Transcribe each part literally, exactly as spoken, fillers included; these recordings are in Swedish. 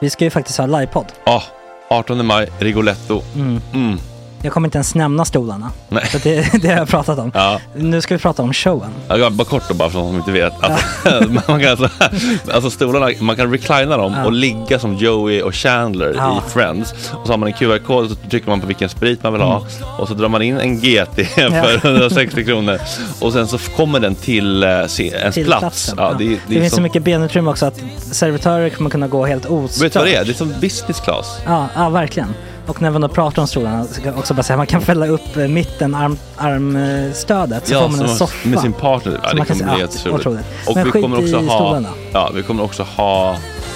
Vi ska ju faktiskt ha livepodd. Ja, oh, artonde maj, Rigoletto. Mm. Mm. Jag kommer inte ens nämna stolarna. Nej. För det, det har jag pratat om. Ja. Nu ska vi prata om showen. Ja, bara kort då, bara för de som inte vet. Alltså, man kan alltså, alltså stolarna, man kan reclina dem ja. och ligga som Joey och Chandler ja. i Friends. Och så har man en Q R-kod och så trycker man på vilken sprit man vill ha. Mm. Och så drar man in en G T för hundrasextio kronor. Och sen så kommer den till uh, ens till plats. Ja, ja. Det, det, det finns som... så mycket benutrymme också att servitörer kommer kunna gå helt ostört. Vet du vad det är? Det är som business class. Ja, ja verkligen. Och när man då pratar om stolarna så kan också bara säga att man kan fälla upp mitten arm, armstödet så ja, får man en soffa med sin partner. Ja, det kommer bli jätteroligt. Och men vi kommer också ha stolarna. Ja, vi kommer också ha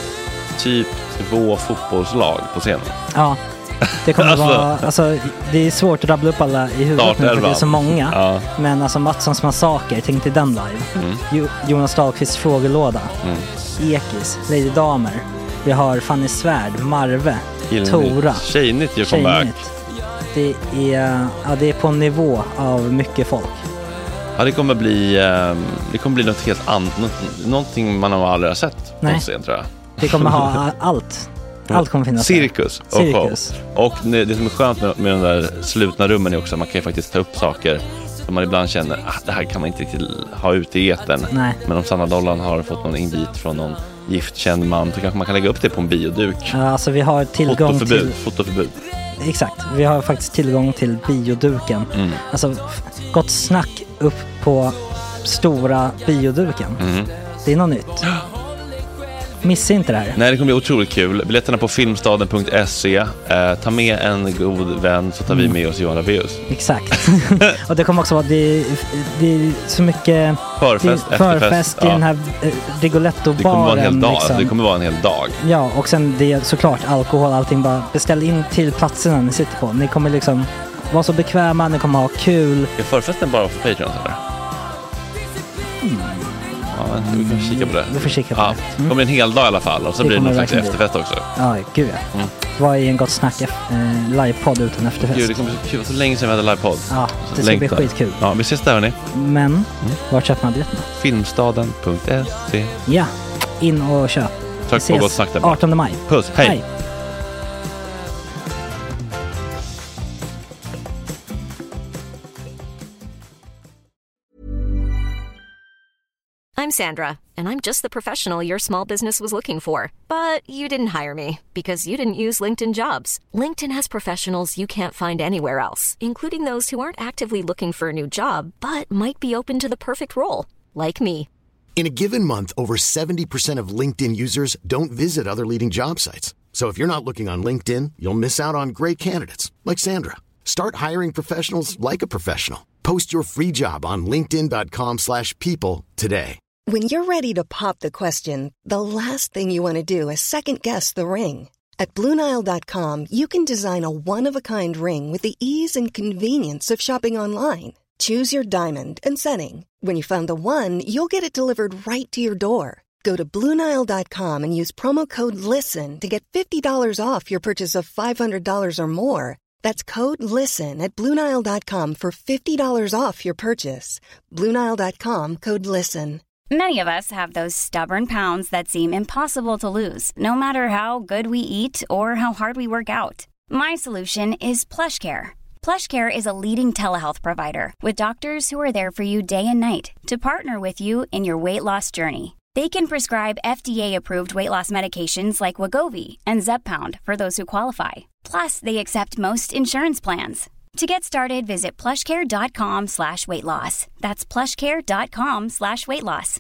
typ två fotbollslag på scenen. Ja. Det kommer alltså, vara alltså det är svårt att rabbla upp alla i huvudet nu för det är så många. Ja. Men alltså Mattssons massaker, tänk till den live. Mm. Jo, Jonas Dahlqvists frågelåda. Mm. Ekis, Lady Damer. Vi har Fanny Svärd, Marve, Gillnytt. Tora. Tjejnytt gör comeback. Det är, ja, det är på en nivå av mycket folk. Ja, det kommer bli det kommer bli något helt annat, något, någonting man har aldrig har sett på scen, tror jag. Det kommer ha allt. Allt kommer finnas. Cirkus och Cirkus. Och det som är skönt med, med de där slutna rummen är också att man kan ju faktiskt ta upp saker som man ibland känner att det här kan man inte riktigt ha ute i etern. Nej. Men om Sanna Dollan har fått någon invit från någon giftkänd man så kanske man kan lägga upp det på en bioduk. Ja, alltså vi har tillgång fotoförbud, till... Fotoförbud. Exakt, vi har faktiskt tillgång till bioduken. Mm. Alltså gott snack upp på stora bioduken. Mm. Det är något nytt. Missa inte det här. Nej, det kommer bli otroligt kul. Biljetterna på filmstaden punkt se. Eh, ta med en god vän så tar mm. vi med oss Johan Rabaeus. Exakt. Och det kommer också vara det, det är så mycket förfest, det, förfest i ja. den här eh, Rigoletto-baren. Det kommer vara en hel dag. Liksom. Det kommer vara en hel dag. Ja, och sen det är såklart alkohol, allting. Bara beställ in till platserna ni sitter på. Ni kommer liksom vara så bekväma, ni kommer ha kul. Är förfesten bara för Patreon eller? Mm. Ja, vi kan kika på det. Vi får kika på ja, det. Mm. Det kommer en hel dag i alla fall. Och så det blir det någon slags efterfest också. Ja, gud ja. Mm. Vad är en gott snack eh, livepodd utan efterfest? Gud, det kommer så kul. Så länge sedan vi hade livepodd. Ja, det ska bli skitkul. Ja, vi ses där hörni. Men, mm. var köper man biljetterna? filmstaden punkt se. Ja, in och köp. Tack på gott snack där. artonde maj. Puss, hej. hej. I'm Sandra, and I'm just the professional your small business was looking for. But you didn't hire me because you didn't use LinkedIn Jobs. LinkedIn has professionals you can't find anywhere else, including those who aren't actively looking for a new job, but might be open to the perfect role, like me. In a given month, over seventy percent of LinkedIn users don't visit other leading job sites. So if you're not looking on LinkedIn, you'll miss out on great candidates, like Sandra. Start hiring professionals like a professional. Post your free job on linkedin dot com slash people today. When you're ready to pop the question, the last thing you want to do is second-guess the ring. At Blue Nile dot com, you can design a one-of-a-kind ring with the ease and convenience of shopping online. Choose your diamond and setting. When you find the one, you'll get it delivered right to your door. Go to Blue Nile dot com and use promo code LISTEN to get fifty dollars off your purchase of five hundred dollars or more. That's code LISTEN at Blue Nile dot com for fifty dollars off your purchase. Blue Nile dot com, code LISTEN. Many of us have those stubborn pounds that seem impossible to lose, no matter how good we eat or how hard we work out. My solution is PlushCare. PlushCare is a leading telehealth provider with doctors who are there for you day and night to partner with you in your weight loss journey. They can prescribe F D A-approved weight loss medications like Wegovy and Zepbound for those who qualify. Plus, they accept most insurance plans. To get started, visit plushcare.com slash weight loss. That's plushcare.com slash weight loss.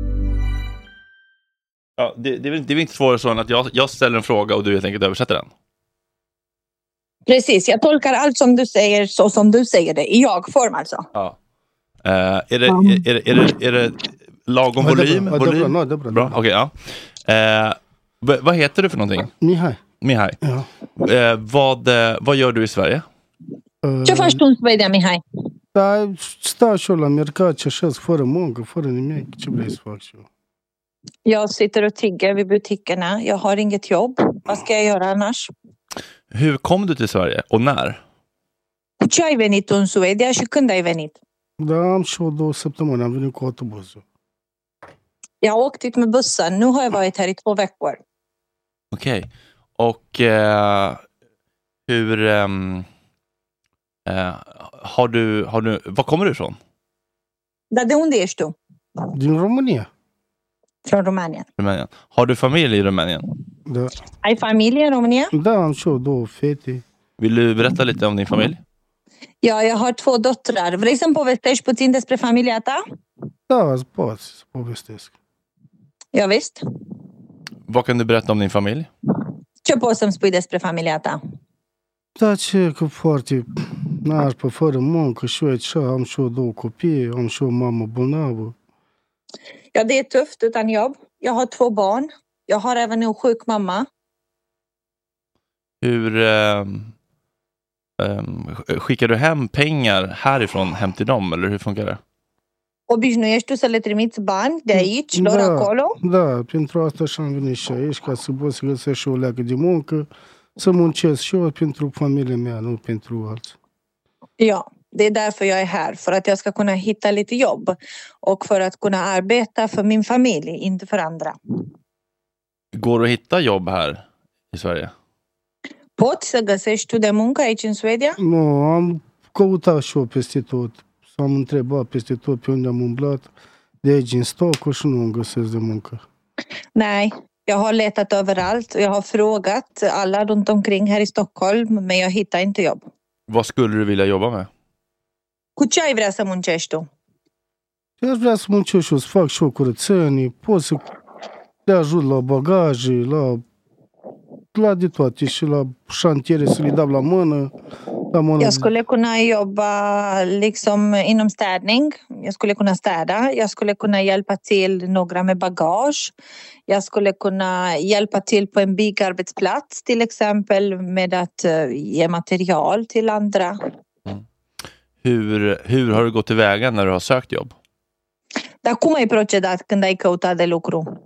Ja, det, det, är väl, det är väl inte svårare så än att jag, jag ställer en fråga och du helt enkelt översätter den. Precis, jag tolkar allt som du säger så som du säger det. I jag-form alltså. Ja. Uh, är, det, mm. är, är, det, är, det, är det lagom ja, volym? Det är bra, volym? det är bra, det är bra. Bra, okej, okay, ja. Uh, v- vad heter du för någonting? Mihai. Mihai. Ja. Uh, vad, uh, vad gör du i Sverige? Ce faci tu în Suedia, Mihai? Da, stau și eu la mercat și așa, fără muncă, fără nimic. Ce vrei să fac și eu? Jag sitter och tigger vid butikerna. Jag har inget jobb. Vad ska jag göra annars? Hur kom du till Sverige och när? Cu ce ai venit tu în Suedia și când ai venit? Da, am și o două săptămâni. Am venit cu autobuzul. Jag har åkt hit med bussen. Nu har jag varit här i två veckor. Okej. Okay. Och eh, hur... Um, eh, har, du, har du... Var kommer du ifrån? Dar de unde ești tu? Din România. Från Rumänien. Rumänien. Har du familj i Rumänien? Da. Ai familie în România? Da, am și eu două fete. Vill du berätta lite om din familj? Ja, jag har två döttrar. Vrei să-mi povestești puțin despre familia ta? Da, îți pot să povestesc. Ja, visst. Vad kan du berätta om din familj? Ce poți să-mi spui despre familia ta? Da, ce, că foarte nașpa, fără muncă și eu aici am și eu două copii, am și eu o mamă bolnavă. Ja, det är tufft utan jobb. Jag har två barn. Jag har även en sjuk mamma. Hur um, um, skickar du hem pengar härifrån hem till dem, eller hur funkar det? Obișnuiești tu să le trimiți bani de aici, lor acolo? Da, pentru asta și-am venit și aici, ca să pot să găsesc și o leacă de muncă, să muncesc și eu pentru familia mea, nu pentru alții. Ja, det är därför jag är här. För att jag ska kunna hitta lite jobb. Och för att kunna arbeta för min familj, inte för andra. Går det att hitta jobb här i Sverige? Poți să găsești tu de muncă aici în Suedia? Nu, am căutat și eu peste tot. S-am întrebat peste tot pe unde am umblat. De aici în Stockholm și nu îmi găsesc de muncă. Nej, jag har letat överallt. Jag har frågat alla runt omkring här i Stockholm. Men jag hittar inte jobb. Vad skulle du vilja jobba med? Cu ce ai vrea să muncești tu? Eu aș vrea să muncesc și eu, să fac și eu curățenii, pot să le ajut la bagaje, la, la de toate și la șantiere să le dau la mână. La mână. Jag skulle kunna jobba liksom inom städning. Jag skulle kunna städa. Jag skulle kunna hjälpa till några med bagage. Jag skulle kunna hjälpa till på en byggarbetsplats till exempel med att ge material till andra. Mm. Hur, hur har du gått tillväga när du har sökt jobb? Dar cum ai procedat când ai căutat de lucru?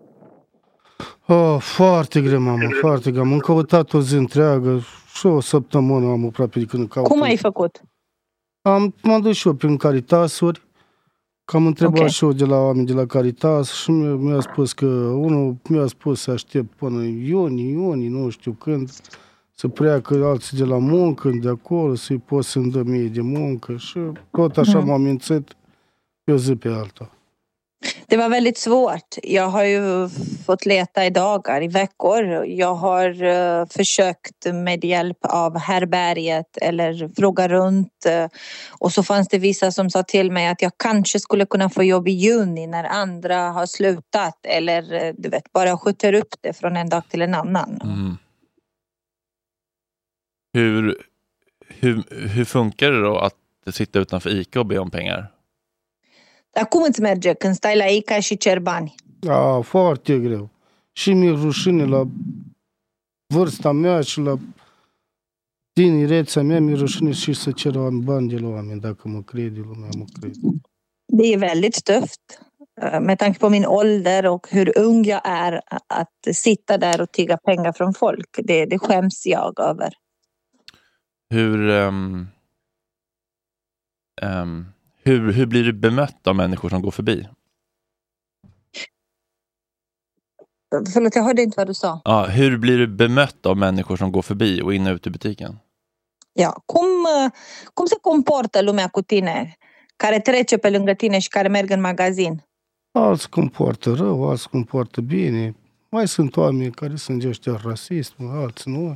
Oh, foarte greu, mamă, foarte greu. Am căutat o zi întreagă și o săptămână am aproape de când caut. Cum ai făcut? Am, m-am dus și eu prin Caritasuri, că am întrebat okay. și eu de la oameni de la Caritas și mi-a, mi-a spus că unul mi-a spus să aștept până iunie, iunie, nu știu când, să pleacă alții de la muncă, de acolo, să-i pot să-mi dă mie de muncă și tot așa mm. m-am mințit pe o zi pe alta. Det var väldigt svårt. Jag har ju fått leta i dagar, i veckor. Jag har uh, försökt med hjälp av härbärget eller fråga runt. Uh, och så fanns det vissa som sa till mig att jag kanske skulle kunna få jobb i juni när andra har slutat. Eller uh, du vet, bara skjuter upp det från en dag till en annan. Mm. Hur, hur, hur funkar det då att sitta utanför ICA och be om pengar? Dar cum îți merge când stai la ICA și cer bani? Da, foarte greu. Și mi-e rușine la vârsta mea și la tinerețea mea, mi-e rușine și să cer bani de la oameni, dacă mă crede lumea, mă crede. Det är väldigt tufft med tanke på min ålder och hur ung jag är att sitta där och tigga pengar från folk. Det, det skäms jag över. Hur... Um, um... Hur, hur blir du bemött av människor som går förbi? Förlåt, jag hörde inte vad du sa. Ja, hur blir du bemött av människor som går förbi och in och ut i butiken? Ja, cum, cum se comportă lumea cu tine, care trece pe lângă tine și care merg în magazin? Alți comportă rău, alți comportă bine. Mai sunt oameni care sunt ăștia rasist, alții nu.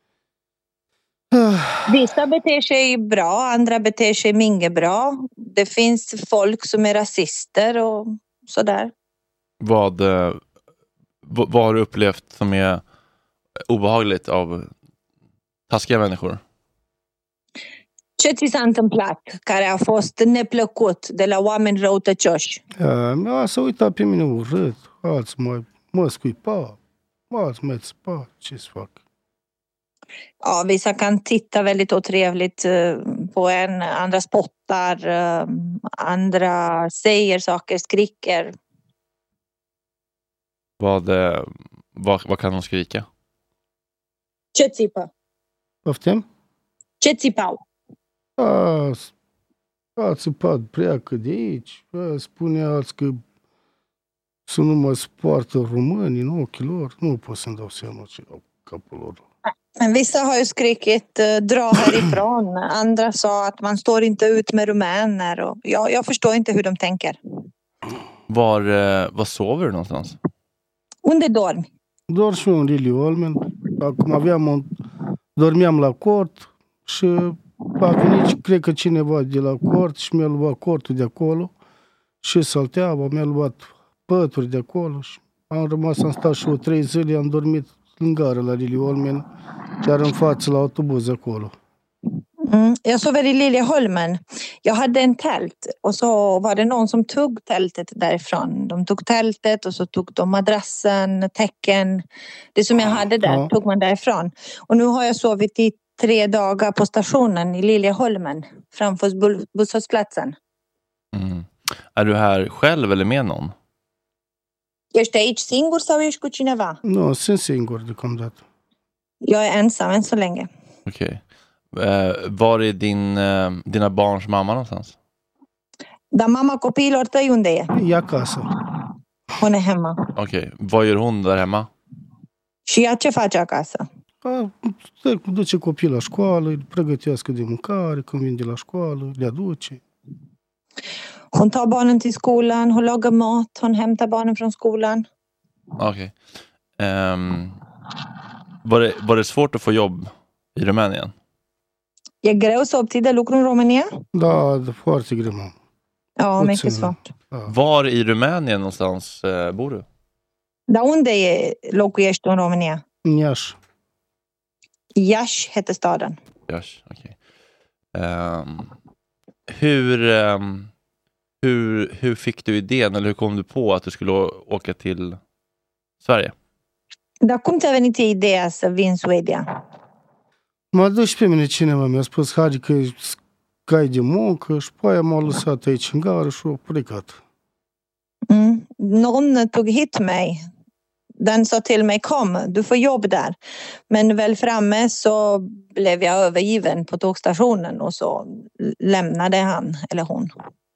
Vissa beter sig bra, andra beter sig mindre bra. Det finns folk som är rasister och sådär. Vad, vad, vad har du upplevt som är obehagligt av taskiga människor? Ce ți s-a întâmplat care a fost neplăcut de la oameni răutăcioși? Mi-a s-a uitat pe mine urât, alții mă, mă scuipa, alții mă țipa, ce-ți fac? Ja, vissa kan titta väldigt otrevligt på en, andra spottar, andra säger saker, skriker. Vad, vad, vad kan de skrika? Ce țipă? Poftim? Ce țipau? A, a țipat, pleacă de aici, a, spune alții că să nu mă spartă românii în ochii lor. Nu pot să-mi dau seama ce au capul lor. Men vissa har ju skrikit dra härifrån. Andra sa att man står inte ut med rumäner. Och jag, jag förstår inte hur de tänker. Var, var sover du någonstans? Unde dormi? Doar și eu în Lily Olmen. Acum aveam un... dormeam la cort și a venit, cred că cineva de la cort și mi-a luat cortul de acolo și salteava, mi-a luat pături de acolo și am rămas, am stat și o trei zile, am dormit în gară la Lily Olmen, chiar în față la autobuz acolo. Mm, jag sover i Liljeholmen. Jag hade en tält och så var det någon som tog tältet därifrån. De tog tältet och så tog de madrassen, täcken. Det som jag hade där ja. Tog man därifrån. Och nu har jag sovit i tre dagar på stationen i Liljeholmen framför busshållplatsen. Mm. Är du här själv eller med någon? Ești aici singur sau ești cu cineva? Nu, sunt singur deocamdată. Jag är ensam än så länge. Okej. Okay. Uh, var är din, uh, dina barns mamma någonstans? Dar mama copiilor tăi unde e? E acasă. Hon är hemma. Okej, okay. Vad gör hon där hemma? Și ea ce face acasă? A, duce copii la școală, îi pregătească de mâncare, când vin de la școală, le aduce. Hon tar barnen till skolan, hon lagar mat, hon hämtar barnen från skolan. Okej. Okay. Um, var, det, var det svårt att få jobb i Rumänien? E greu să obții de lucru în România? Da, foarte greu. Ja, mycket svårt. Da. Var i Rumänien någonstans uh, bor du? Dar unde e locuiești în România? Iași. Iași heter staden. Iași, okej. Okay. Um, hur, um, hur, hur fick du idén, eller hur kom du på att du skulle å- åka till Sverige? Dar cum ți-a venit ideea să vii în Suedia? M-a dus și pe mine cineva, mi-a spus, Hadi, că cai de muncă și pe aia m-a lăsat aici în gară și a plecat. Mm. Någon tog hit mig. Den sa till mig, kom, du får jobb där. Men väl framme så blev jag övergiven på tågstationen och så lämnade han eller hon.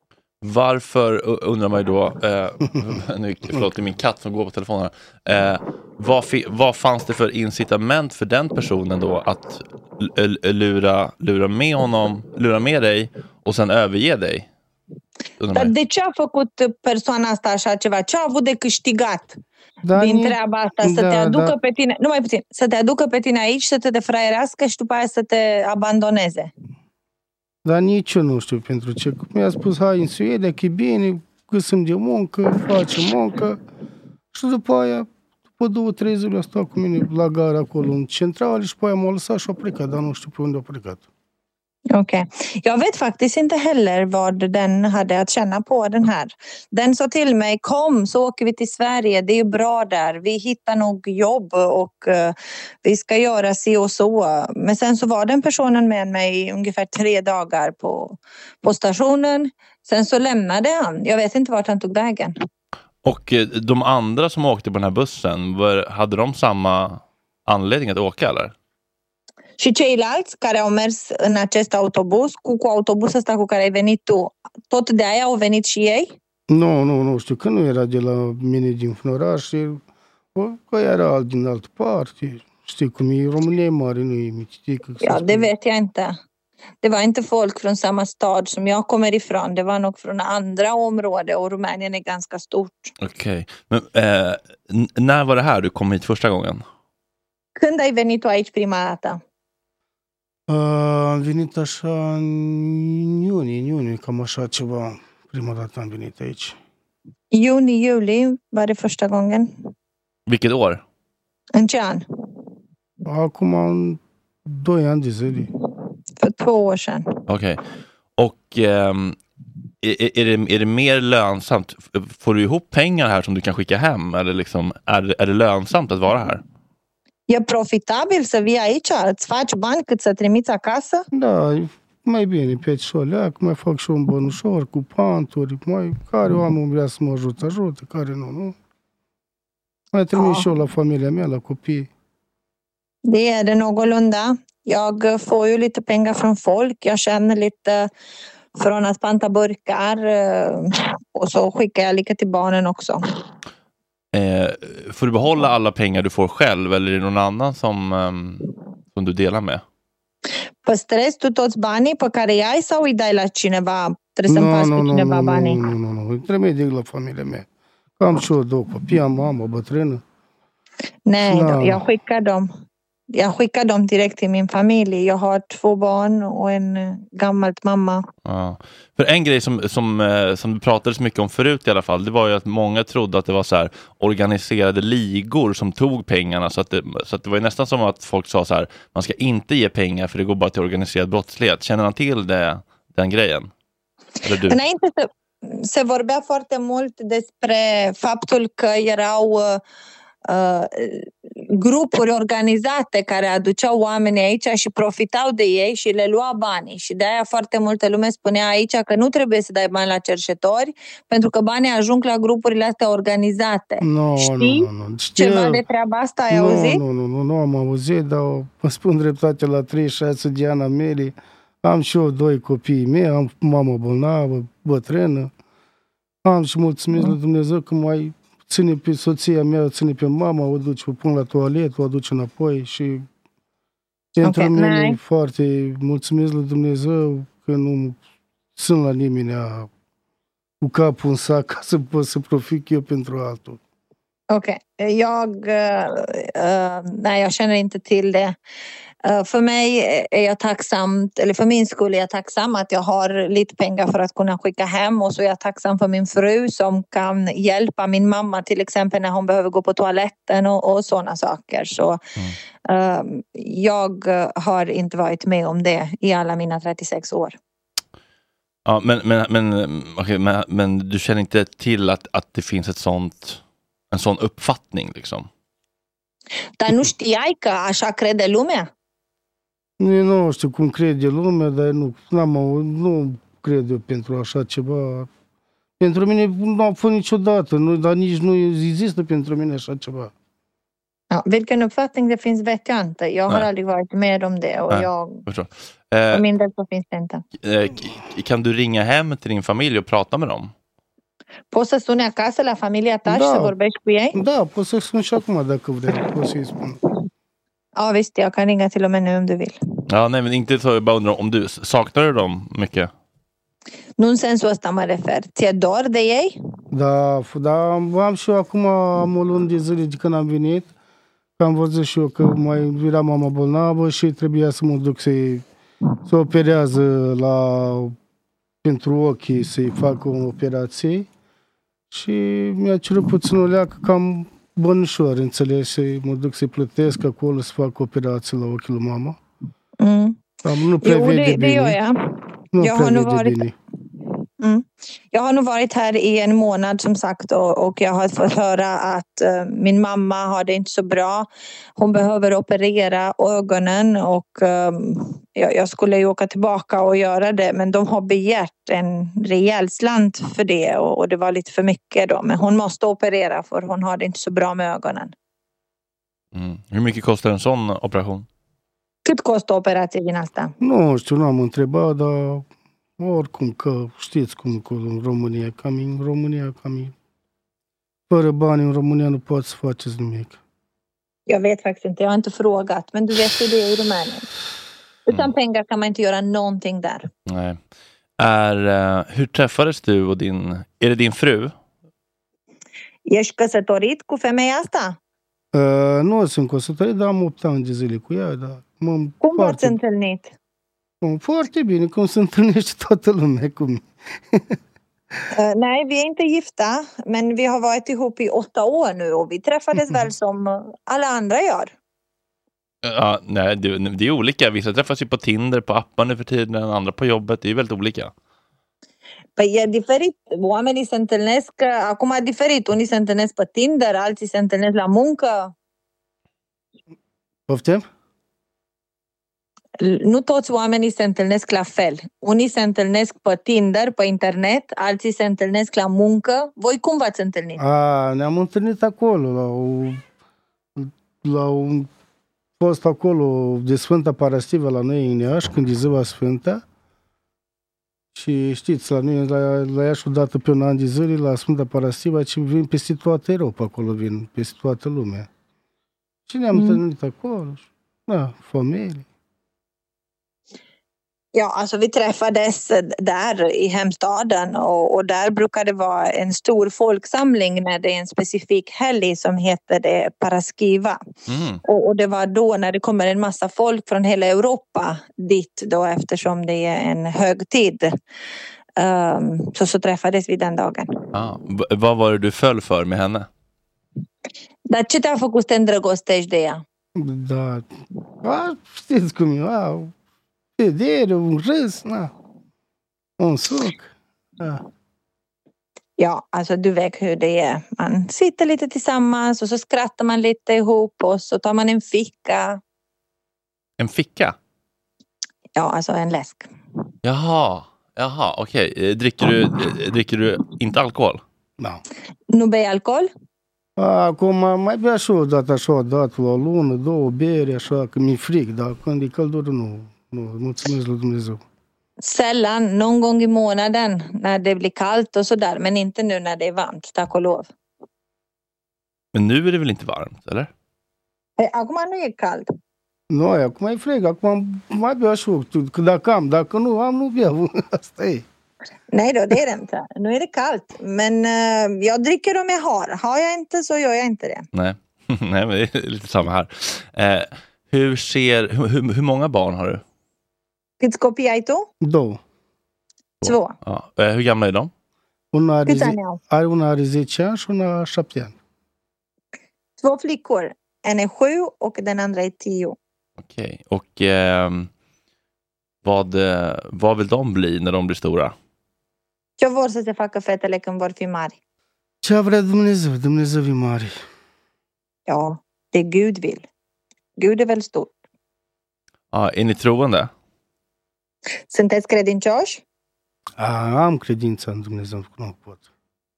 Varför, undrar man ju då, eh, nu, förlåt, det är min katt som går på telefonen här. Eh, vad, fi, vad fanns det för incitament för den personen då att l- l- lura, lura med honom, lura med dig och sen överge dig? Dar de ce a făcut persoana asta așa ceva? Ce a avut de câștigat da, din treaba asta? Să da, te aducă da. pe tine, numai puțin, să te aducă pe tine aici, să te defraierească și după aia să te abandoneze. Dar nici eu nu știu pentru ce. Mi-a spus, hai în Suedia, că e bine, găsim de muncă, facem muncă. Și după aia, după două, trei zile a stat cu mine la gara acolo în centrală și după aia m-a lăsat și a plecat, dar nu știu pe unde a plecat. Okej. Okay. Jag vet faktiskt inte heller vad den hade att känna på den här. Den sa till mig, kom så åker vi till Sverige, det är bra där. Vi hittar nog jobb och uh, vi ska göra si och så. Men sen så var den personen med mig i ungefär tre dagar på, på stationen. Sen så lämnade han. Jag vet inte vart han tog vägen. Och de andra som åkte på den här bussen, var, hade de samma anledning att åka eller? Și ceilalți care au mers în acest autobuz, cu, cu autobuzul ăsta cu care ai venit tu, tot de aia au venit și ei? Nu, nu, nu știu, că nu era de la mine din oraș, că era alt din altă parte. Știi cum e, România e mare, nu e mitică. Ja, det vet jag inte. Det var inte folk från samma stad som jag kommer ifrån. Det var nog från andra områden och Rumänien är ganska stort. Okej, okay. Men eh, n- när var det här du kom hit första gången? Când ai venit tu aici prima dată? Am venit așa în iunie, în iunie, cam așa ceva. Prima dată am venit aici. Juni, juli var det första gången. Vilket år? În ce an? Acum în doi ani de zile. För två år sedan. Okej. Okay. Och um, är, är, det, är det mer lönsamt? Får du ihop pengar här som du kan skicka hem? Eller liksom, är, är det lönsamt att vara här? E profitabil să vii aici? Îți faci bani cât să trimiți acasă? Da, mai bine pe aici o leac, mai fac și un bănușor cu panturi, mai, care oameni vrea să mă ajut, ajută, care nu, nu. Mai trimis oh. și eu la familia mea, la copii. Det är det någorlunda. Jag får ju lite pengar från folk. Jag känner lite från att panta burkar. Och så skickar jag lite till barnen också. Eh, får du behålla alla pengar du får själv eller är det någon annan som, um, som du delar med? Păstrezi tu toți banii pe care îi ai sau îi dai la cineva? Trebuie să împați pe cineva banii? Nu, nu, nu, nu. Trebuie de la familia mea. Am și eu două copii, am mamă, bătrână. Nej, då, jag skickar dem. Jag skickar dem direkt till min familj. Jag har två barn och en gammalt mamma. Ja. För en grej som, som, som du pratade så mycket om förut i alla fall, det var ju att många trodde att det var så här organiserade ligor som tog pengarna. Så att det, så att det var ju nästan som att folk sa så här, man ska inte ge pengar för det går bara till organiserad brottslighet. Känner han till det, den grejen? Eller du? Înainte se, se vorbea foarte mult despre faptul că erau uh, grupuri organizate care aduceau oamenii aici și profitau de ei și le lua banii. Și de aia foarte multă lume spunea aici că nu trebuie să dai bani la cerșetori pentru că banii ajung la grupurile astea organizate. No, Știi nu, nu, nu. ceva de treaba asta? Ai nu, auzit? Nu, nu, nu, nu am auzit, dar mă spun dreptate la treizeci și șase de ani mele. Am și eu doi copii mei, am mamă bolnavă, bătrână. Am și mulțumesc mm. la Dumnezeu că mai ține pe soția mea, o ține pe mama, o duce, o pun la toaletă, o aduce înapoi și pentru okay, mine nice. Foarte mulțumesc la Dumnezeu că nu sunt la nimeni cu capul în sac ca să pot să profit eu pentru altul. Okej, okay. jag, uh, nej, jag känner inte till det. Uh, för mig är jag tacksam, eller för min skull är jag tacksam att jag har lite pengar för att kunna skicka hem, och så är jag tacksam för min fru som kan hjälpa min mamma till exempel när hon behöver gå på toaletten och, och sådana saker. Så mm. uh, jag har inte varit med om det i alla mina trettiosex år. Ja, men, men, men, okay, men, men du känner inte till att, att det finns ett sånt, en sån uppfattning liksom? Dar nu știai că așa crede lumea? Nu știu cum crede lumea, dar nu, n-am, nu cred eu pentru așa ceva. Pentru mine nu a fost niciodată, nu, dar nici nu există pentru mine așa ceva. Ja, vilken uppfattning det finns vet jag inte. Jag har Nej. aldrig varit med om det. Och jag, eh, för min del så finns det inte. Eh, kan du ringa hem till din familj och prata med dem? Poți să suni acasă la familia ta da. și să vorbești cu ei? Da, poți să sun și acum dacă vrei. Poți să-i spun. Ja visst, jag kan ringa till och med nu om du vill. Ja, nej men inte så, jag bara undrar om du saknar du dem mycket? Nu în sensul ăsta mă refer. Ți-e dor de ei? Da, da, am și eu acum am o lună de zile de când am venit. Că am văzut și eu că mai era mama bolnavă și trebuia să mă duc să-i să operează la pentru ochii, să-i fac o operație. Și mi-a cerut puțin o leacă cam bănușor, înțelegi, să mă duc să-i plătesc acolo să fac operație la ochiul lui mama. Mm. Nu prea vede det, bine. Det gör jag. Nu jag, har nu varit, mm. jag har nu varit här i en månad som sagt och, och jag har fått höra att uh, min mamma har det inte så bra. Hon behöver operera ögonen och um, jag, jag skulle ju åka tillbaka och göra det, men de har begärt en rejäl slant för det och, och det var lite för mycket då. Men hon måste operera för hon har det inte så bra med ögonen. Mm. Hur mycket kostar en sån operation? Cât costă operația din asta? Nu știu, nu am întrebat, dar oricum că știți cum acolo în România, cam în România, cam fără bani în România nu poți să faceți nimic. Jag vet faktiskt inte, jag har inte frågat, men du vet hur det är i Rumänien. Utan mm. pengar kan man inte göra någonting där. Nej. Är, uh, hur träffades du och din, är det din fru? Ești căsătorit cu femeia asta? Uh, nu sunt căsătorit, dar am opt ani de zile cu ea. Dar cum foarte, v-ați întâlnit? Foarte bine, cum se întâlnește toată lumea cu mine. uh, nej, vi är inte gifta, men vi har varit ihop i åtta år nu och vi träffades väl som alla andra gör. Ja, nej, det, det är olika. Vissa träffas ju på Tinder, på appar nu för tiden, andra på jobbet. Det är väldigt olika. Păi e diferit. Oamenii se întâlnesc, acum e diferit. Unii se întâlnesc pe Tinder, alții se întâlnesc la muncă. Poftim? Nu toți oamenii se întâlnesc la fel. Unii se întâlnesc pe Tinder, pe internet, alții se întâlnesc la muncă. Voi cum v-ați întâlnit? A, ne-am întâlnit acolo, la, o, la un post acolo de Sfânta Parastivă la noi în Iași, când e ziua Sfânta. Și știți, la noi, la, la Iași, odată pe un an de zile, la Sfânta Parastiva, ci vin peste toată Europa, acolo vin, peste toată lumea. Și ne-am mm. întâlnit acolo. Da, familie. Ja, alltså vi träffades där i hemstaden och, och där brukar det vara en stor folksamling när det är en specifik helg som heter det Paraskiva. Mm. Och, och det var då när det kommer en massa folk från hela Europa dit då eftersom det är en högtid. Um, så, så träffades vi den dagen. Ah, v- vad var det du föll för med henne? Dar ce te-a făcut să te îndrăgostești de ea? Da, a, știți cum e, a, vedere, un râs, na, un suc. Ja. Ja, alltså du vet hur det är. Man sitter lite tillsammans och så skrattar man lite ihop och så tar man en ficka. En ficka? Ja, alltså en läsk. Jaha, jaha, okej. Okay. Dricker du, dricker du inte alkohol? Da. Nu bei alcool? Acum mai bea și o dată așa, o dată la o lună, două bere, așa, că mi-e fric, dar când e căldură, nu. Nu, mulțumesc lui Dumnezeu. Sällan, någon gång i månaden när det blir kallt och sådär, men inte nu när det är varmt, tack och lov. Men nu är det väl inte varmt, eller? Acum nu e cald. Nu, acum e frig, acum mai bea și o, că dacă am, dacă nu am, nu beau, asta e. Nej då, det är det inte. Nu är det kallt, men uh, jag dricker om jag har. Har jag inte så gör jag inte det. Nej, Nej men det är lite samma här. Eh, hur ser, hur, hur många barn har du? Câți copii ai tu? Două. Två. Ja. Eh, hur gamla är de? Una are, zi, are, una are zece ani și una șapte ani. Två flickor. En är sju och den andra är tio. Okej, och eh, vad, vad vill de bli när de blir stora? Ce vor să se facă fetele când vor fi mari? Ce vrea Dumnezeu? Dumnezeu e mare. Ja, det Gud vill. Gud är väl stort. Ja, är ni troende? Sunteți credincioși? A, am credința în Dumnezeu, nu pot.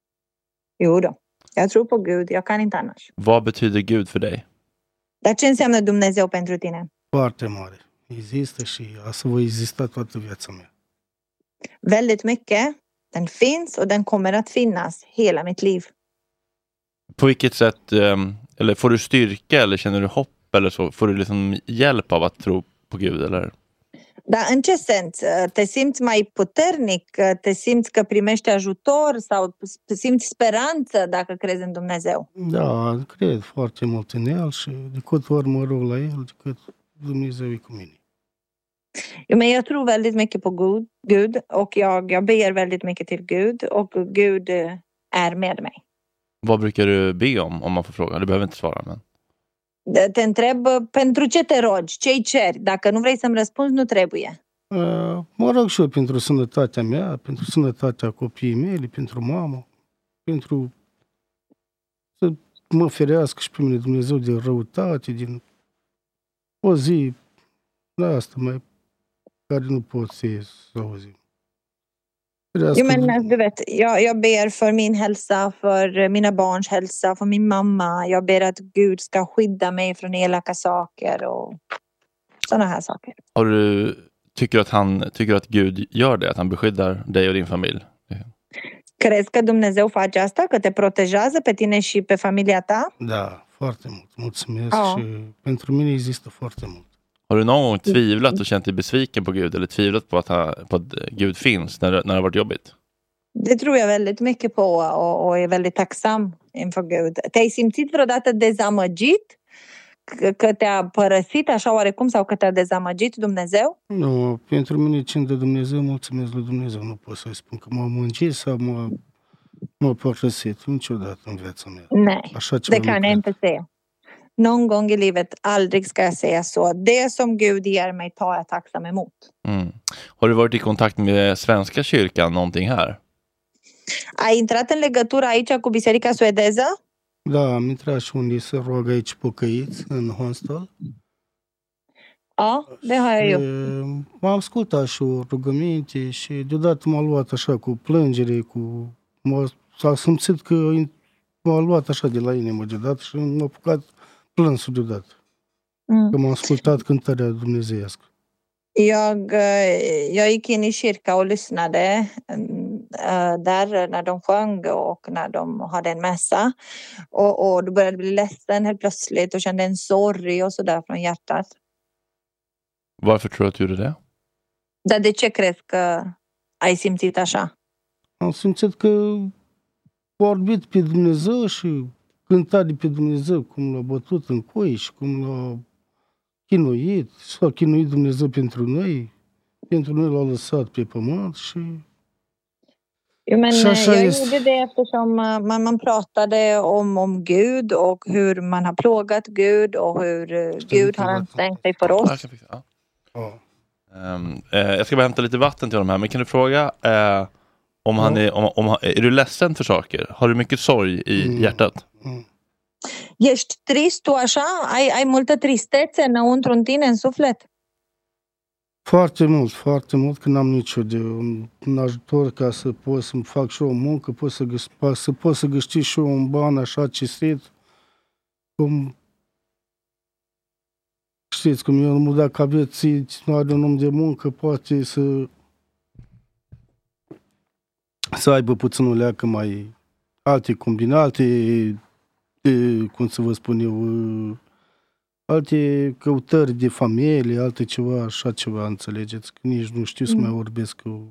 Jo då, jag tror på Gud, jag kan inte annars. Vad betyder Gud för dig? Dar ce înseamnă Dumnezeu pentru tine? Foarte mare. Există și asta va exista toată viața mea. Väldigt mycket. Den finns och den kommer att finnas hela mitt liv. På vilket sätt, eller får du styrka eller känner du hopp eller så? Får du liksom hjälp av att tro på Gud eller? Dar în ce sens? Te simți mai puternic? Te simți că primești ajutor sau simți speranță dacă crezi în Dumnezeu? Da, cred foarte mult în El și de câte ori mă rog la El, de cât Dumnezeu e cu mine. Jo, men jag tror väldigt mycket på Gud, Gud och jag, jag ber väldigt mycket till Gud och Gud är med mig. Vad brukar du be om, om man får fråga? Du behöver inte svara, men... Te întreb pentru ce te rogi, ce-i ceri. Dacă nu vrei să-mi răspunzi, nu trebuie. Uh, mă rog și eu pentru sănătatea mea, pentru sănătatea copiii mei, pentru mama, pentru să mă ferească și pe mine Dumnezeu de răutate, din o zi, da, asta mai care nu pot să auzi. Jo, men du vet, jag, jag ber för min hälsa, för mina barns hälsa, för min mamma. Jag ber att Gud ska skydda mig från elaka saker och sådana här saker. Har du, tycker att han, tycker att Gud gör det? Att han beskyddar dig och din familj? Crezi că Dumnezeu face asta? Că te protejează pe tine și pe familia ta? Da, foarte mult. Mulțumesc oh. și pentru mine există foarte mult. Har du någon gång tvivlat och känt dig besviken på Gud eller tvivlat på att, han, på att Gud finns när, när det har varit jobbigt? Det tror jag väldigt mycket på och, och är väldigt tacksam inför Gud. Te-ai simțit vreodată dezamăgit? Că te-a părăsit așa oarecum sau că te-a dezamăgit Dumnezeu? Nu, pentru mine cine de Dumnezeu, mulțumesc lui Dumnezeu. Nu pot să-i spun că m-a mângit sau m-a, m-a părăsit niciodată în viața mea. Nej, det kan jag inte säga. Någon gång i livet, aldrig ska jag säga så. Det som Gud ger mig tar jag tacksam emot. Mm. Har du varit i kontakt med Svenska kyrkan någonting här? Ai intrat în legătură aici cu biserica suedeză? Da, am intrat și unde se roagă aici pocăiți, în hostel. Ja, det har jag gjort. M-am ascultat și o rugăminte și deodată m-a luat așa cu plângere, cu... S-a simțit că m-a luat așa de la inimă deodată și m-a apucat plânsul deodată. Mm. Că m-am ascultat cântarea dumnezeiască. Jag, jag gick in i kyrka och lyssnade där när de sjöng och när de hade en mässa. Och, och då började jag bli ledsen helt plötsligt och kände en sorg och sådär från hjärtat. Varför tror du att du gjorde det? Dar de ce crezi că ai simțit așa? Am simțit că vorbit pe Dumnezeu și cânta de pe Dumnezeu, cum l-a bătut în coi și cum l-a chinuit. S-a chinuit Dumnezeu pentru noi. Pentru noi l-a lăsat pe pământ și... Jo, men jag gjorde det eftersom man, man pratade om, om Gud och hur man har plågat Gud och hur Gud har ansträngt sig för oss. Ja. Ja. Um, eh, jag ska bara hämta lite vatten till honom här, men kan du fråga eh, om han är, om, om, är du ledsen för saker? Har du mycket sorg i mm. hjärtat? Mm. Ești trist tu așa? Ai, ai multă tristețe înăuntru în tine, în suflet? Foarte mult, foarte mult, că n-am nicio de un ajutor ca să pot să-mi fac și o muncă, pot să, găs- să pot să găsti și eu un ban așa cinstit, cum știți, cum eu nu dacă aveți, nu are un om de muncă, poate să să aibă puțin o leacă mai alte combinate, de, cum să vă spun eu, alte căutări de familie, alte ceva, așa ceva, înțelegeți? Că nici nu știu să mai vorbesc cu...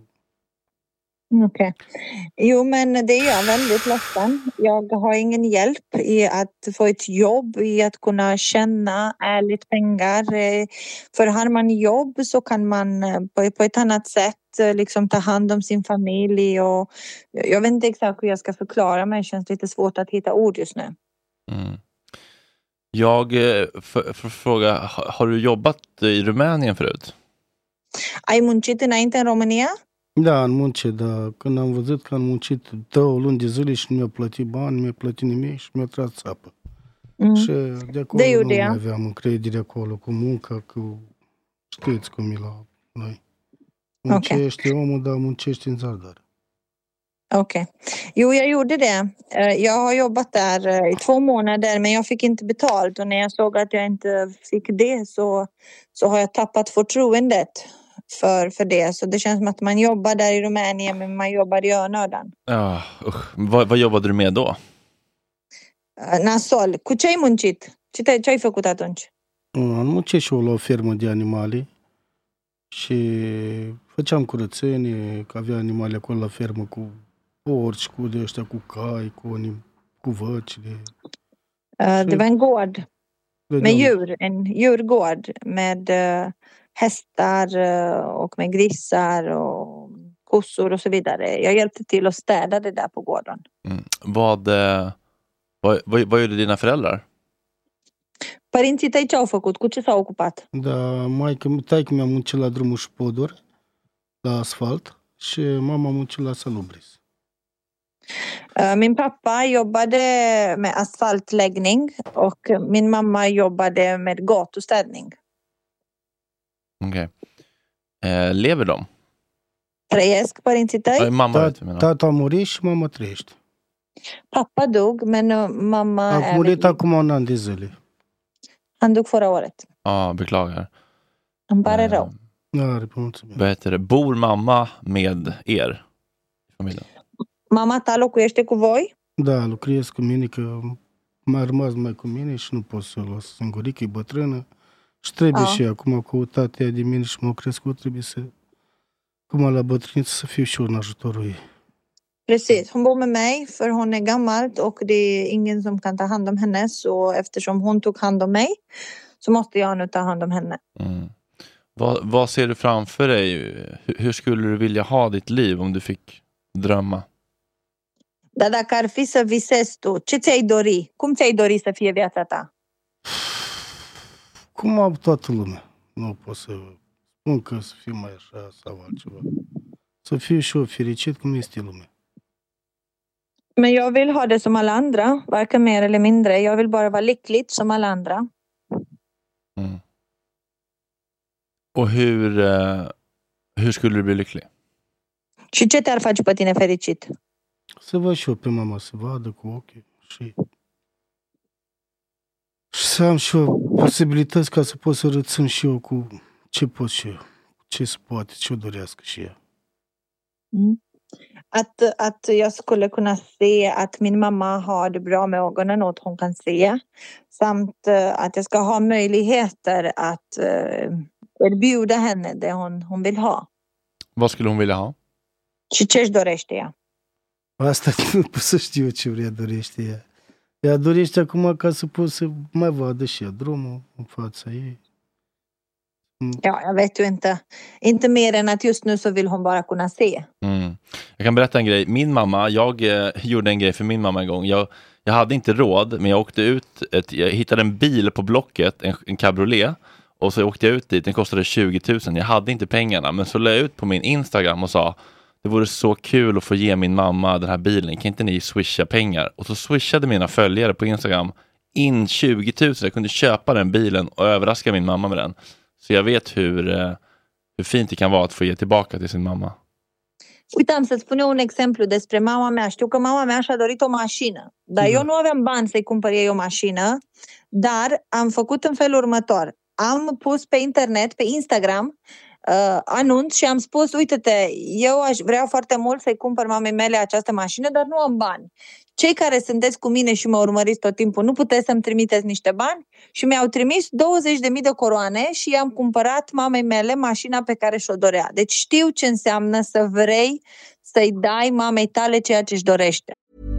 Okej. Okay. Jo, men det är jag väldigt ledsen. Jag har ingen hjälp i att få ett jobb, i att kunna tjäna ärligt pengar. För har man jobb så kan man på, på ett annat sätt liksom ta hand om sin familj. Och jag vet inte exakt hur jag ska förklara, men det känns lite svårt att hitta ord just nu. Mm. Jag för, för fråga, har, har du jobbat i Rumänien förut? Ai muncit înainte în România? Da, în munce, dar când am văzut că am muncit două luni de zile și nu mi-a plătit bani, nu mi-a plătit nimic și mi-a tras țapă. Mm. Și de acolo de nu mai aveam încredere acolo cu munca, cu știți cum e la noi. Muncește okay. Omul, dar muncește în zadar. Okej. Okay. Jo, jag gjorde det. Jag har jobbat där i två månader, men jag fick inte betalt. Och när jag såg att jag inte fick det så, så har jag tappat förtroendet för, för det. Så det känns som att man jobbar där i Rumänien, men man jobbar i onödan. Ja, usch. Vad, vad jobbade du med då? Nasol. Cu ce-ai muncit? Ce, te, ce ai făcut atunci? Am muncit și eu la o fermă de animale și făceam curățenie, că avea animale acolo la fermă cu porci, cu de ăștia, cu cai, cu, anim, cu văcile. Uh, det var en gård med djur, en djurgård med uh, hästar uh, och med grisar och kossor och så vidare. Jag hjälpte till att städa det där på gården. Mm. Vad, uh, vad, vad, vad gjorde dina föräldrar? Părinții tăi ce au făcut? Cu ce s-au ocupat? Da, maică, taică mi-a muncit la drumul și poduri, la asfalt, și mama a muncit la salubris. Min pappa jobbade med asfaltläggning och min mamma jobbade med gatustädning. Okej. Okay. Eh, lever de? Trăiesc părinții tăi? Ai, mama, vet, tata a murit și mama trăiește. Pappa dog, men mamma a murit acum un an de zile. Han dog förra året. Ja, ah, beklagar. Han pare eh, rău. Ja, det mulțumesc. Vad heter det? Bor mamma med er i familjen? Mama ta locuiește cu voi? Da, lucrez cu mine, că m-a rămas mai cu mine și nu pot să o las singurică, e bătrână. Și trebuie ah. și acum cu tatea de mine și m-au crescut, trebuie să, cum la bătrâniță, să fiu și eu în ajutorul ei. Precis, hon bor med mig för hon är gammalt och det är ingen som kan ta hand om henne, så eftersom hon tog hand om mig så måste jag nu ta hand om henne. Mm. Vad, vad ser du framför dig? Hur, hur skulle du vilja ha ditt liv om du fick drömma? Dar dacă ar fi să visezi tu, ce ți-ai dori? Cum ți-ai dori să fie viața ta? Cum am toată lumea. Nu pot să spun că să fiu mai așa sau altceva. Să fiu și eu fericit cum este lumea. Men jag vill ha det som alla andra, varken mer eller mindre. Jag vill bara vara lyckligt som alla andra. Mm. Och hur, uh, hur skulle du bli lycklig? Și ce te-ar face pe tine fericit? Să văd și eu pe mama, să vadă cu ochii și, și să am și eu posibilități ca să pot să rățân și eu cu ce pot și eu. ce se poate, ce o dorească și ea. Mm. Att, att jag skulle kunna se att min mamma har det bra med ögonen och att hon kan se. Samt uh, att jag ska ha möjligheter att uh, erbjuda henne det hon, hon vill ha. Vad skulle hon vilja ha? Și ce-și dorește ea? Asta nu pot să știu eu ce vrea dorește ea. Ea dorește acum ca să pot să mai vadă și ea drumul în fața ei. Ja, jag vet ju inte. Inte mer än att just nu så vill hon bara kunna se. Mm. Jag kan berätta en grej. Min mamma, jag eh, gjorde en grej för min mamma en gång. Jag, jag hade inte råd, men jag åkte ut, ett, jag hittade en bil på Blocket, en, en cabriolet. Och så åkte jag ut dit, den kostade tjugo tusen. Jag hade inte pengarna, men så la jag ut på min Instagram och sa, det vore så kul att få ge min mamma den här bilen. Kan inte ni swisha pengar? Och så swishade mina följare på Instagram in tjugo tusen. Jag kunde köpa den bilen och överraska min mamma med den. Så jag vet hur, hur fint det kan vara att få ge tillbaka till sin mamma. Uite, am să-ți spun eu un exemplu despre mama mea. Știu că mama mea și-a dorit o mașină. Dar da. Eu nu aveam bani să-i cumpăr ei o mașină. Dar am făcut în felul următor. Am pus pe internet, pe Instagram, uh, anunț și am spus, uite-te, eu aș vrea foarte mult să-i cumpăr mamei mele această mașină, dar nu am bani. Cei care sunteți cu mine și mă urmăriți tot timpul, nu puteți să-mi trimiteți niște bani? Și mi-au trimis douăzeci de mii de coroane și i-am cumpărat mamei mele mașina pe care și-o dorea. Deci știu ce înseamnă să vrei să-i dai mamei tale ceea ce-și dorește.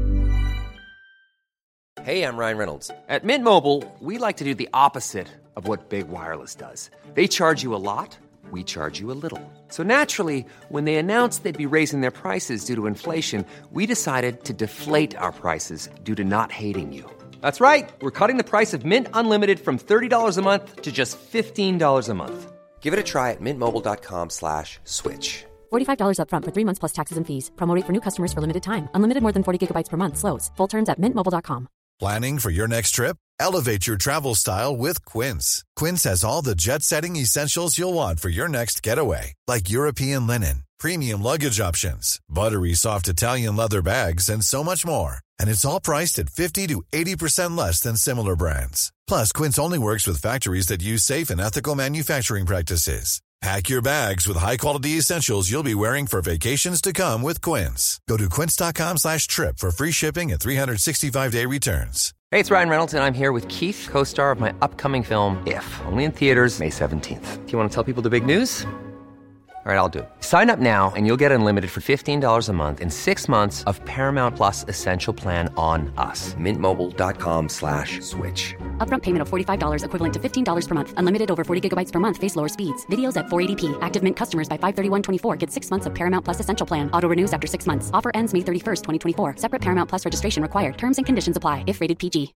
Hey, I'm Ryan Reynolds. At Mint Mobile, we like to do the opposite of what Big Wireless does. They charge you a lot, we charge you a little. So naturally, when they announced they'd be raising their prices due to inflation, we decided to deflate our prices due to not hating you. That's right. We're cutting the price of Mint Unlimited from thirty dollars a month to just fifteen dollars a month. Give it a try at mintmobile.com slash switch. forty-five dollars up front for three months plus taxes and fees. Promo rate for new customers for limited time. Unlimited more than forty gigabytes per month. Slows full terms at mint mobile dot com. Planning for your next trip? Elevate your travel style with Quince. Quince has all the jet-setting essentials you'll want for your next getaway, like European linen, premium luggage options, buttery soft Italian leather bags, and so much more. And it's all priced at fifty to eighty percent less than similar brands. Plus, Quince only works with factories that use safe and ethical manufacturing practices. Pack your bags with high-quality essentials you'll be wearing for vacations to come with Quince. Go to quince.com slash trip for free shipping and three sixty-five day returns. Hey, it's Ryan Reynolds, and I'm here with Keith, co-star of my upcoming film, If, only in theaters May seventeenth. Do you want to tell people the big news? All right, I'll do it. Sign up now and you'll get unlimited for fifteen dollars a month and six months of Paramount Plus Essential Plan on us. Mintmobile.com slash switch. Upfront payment of forty-five dollars equivalent to fifteen dollars per month. Unlimited over forty gigabytes per month. Face lower speeds. Videos at four eighty p. Active Mint customers by five thirty-one twenty-four get six months of Paramount Plus Essential Plan. Auto renews after six months. Offer ends May thirty-first, twenty twenty-four. Separate Paramount Plus registration required. Terms and conditions apply if rated P G.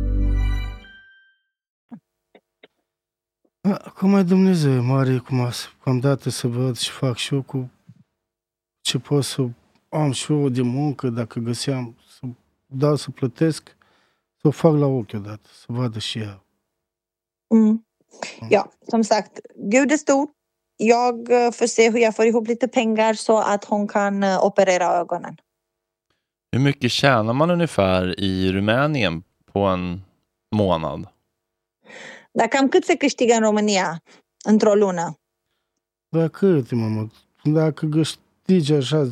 Acum mai Dumnezeu mare cum am dat să văd și fac și eu cu ce pot să am și eu de muncă, dacă găseam să dau să plătesc, să o fac la ochi odată, să vadă și ea. Mm. Ja, som sagt, Gud är stor. Jag får se hur jag får ihop lite pengar så att hon kan operera ögonen. Hur mycket tjänar man ungefär i Rumänien på en månad? Dar cam cât se câștigă în România într-o lună? Da, cât, mamă? Dacă câștigi așa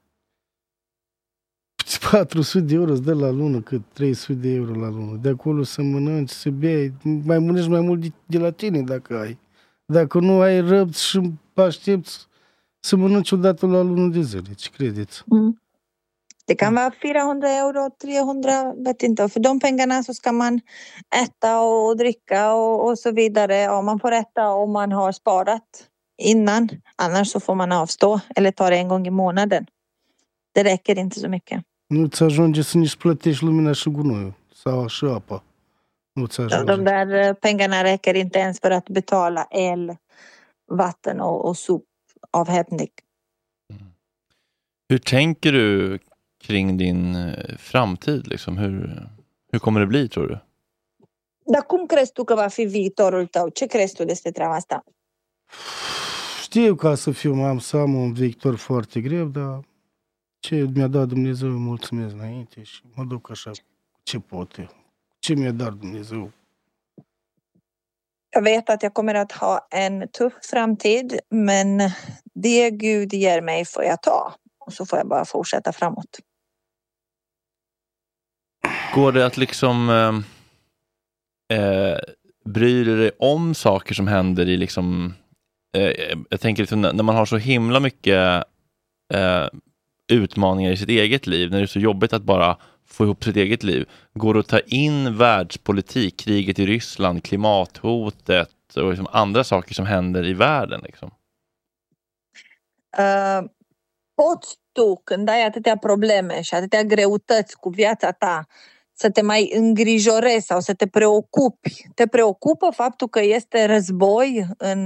patru sute de euro îți dă la lună, cât trei sute de euro la lună. De acolo să mănânci, să bei, mai mănânci mai mult de, de la tine dacă ai. Dacă nu ai răbți și aștepți să mănânci odată la lună de zile, ce credeți? Mm. Det kan vara fyrahundra euro, trehundra, vet inte. För de pengarna så ska man äta och dricka och, och så vidare. Ja, man får äta om man har sparat innan. Annars så får man avstå eller ta det en gång i månaden. Det räcker inte så mycket. Nu-ți ajunge să nici plătești lumina și gunoiul sau și apa. Nu-ți ajunge. De där pengarna räcker inte ens för att betala el, vatten och, och sopavhämtning. Hur tänker du kring din framtid liksom? Hur, hur kommer det bli, tror du? Dar cum crezi tu că va fi viitorul tău? Ce crezi tu despre treaba asta? Știu ca să fiu, am să am un viitor foarte greu, dar ce mi-a dat Dumnezeu, îi mulțumesc înainte și mă duc așa ce pot eu. Ce mi-a dat Dumnezeu. Jag vet att jag kommer att ha en tuff framtid, men det Gud ger mig får jag ta. Och så får jag bara fortsätta framåt. Går det att liksom eh, bryr du dig om saker som händer i liksom, eh, jag tänker liksom, när man har så himla mycket eh, utmaningar i sitt eget liv, när det är så jobbigt att bara få ihop sitt eget liv, går det att ta in världspolitik, kriget i Ryssland, klimathotet och liksom andra saker som händer i världen liksom? Uh, poți tu, când ai atâtea probleme și atâtea greutăți cu viața ta, să te mai îngrijorezi sau să te preocupi? Te preocupă faptul că este război în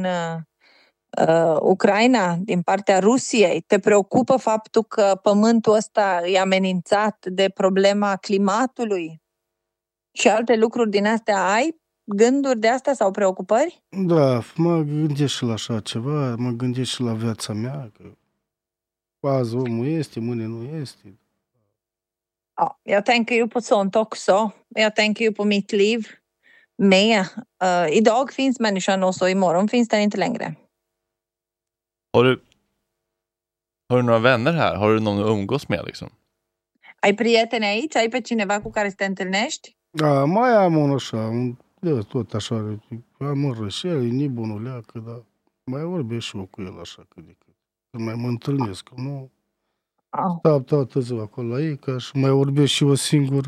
uh, Ucraina din partea Rusiei? Te preocupă faptul că pământul ăsta e amenințat de problema climatului? Și alte lucruri din astea ai? Gânduri de astea sau preocupări? Da, mă gândesc și la așa ceva, mă gândesc și la viața mea, că azi omul este, mâine nu este. Ja, jag tänker ju på sånt också. Jag tänker ju på mitt liv med. Uh, idag finns människan och så imorgon finns den inte längre. Har du, har du några vänner här? Har du någon att umgås med liksom? Ai prieteni aici? Ai pe cineva cu care să te întâlnești? Da, mai am unul așa, un, de, tot așa, am un rășel, e nebunul leacă, dar mai vorbesc și eu cu el așa cât de cât. Când mai mă întâlnesc, nu? Oh. Stau toată ziua acolo la ei, ca și mai vorbesc și eu singur.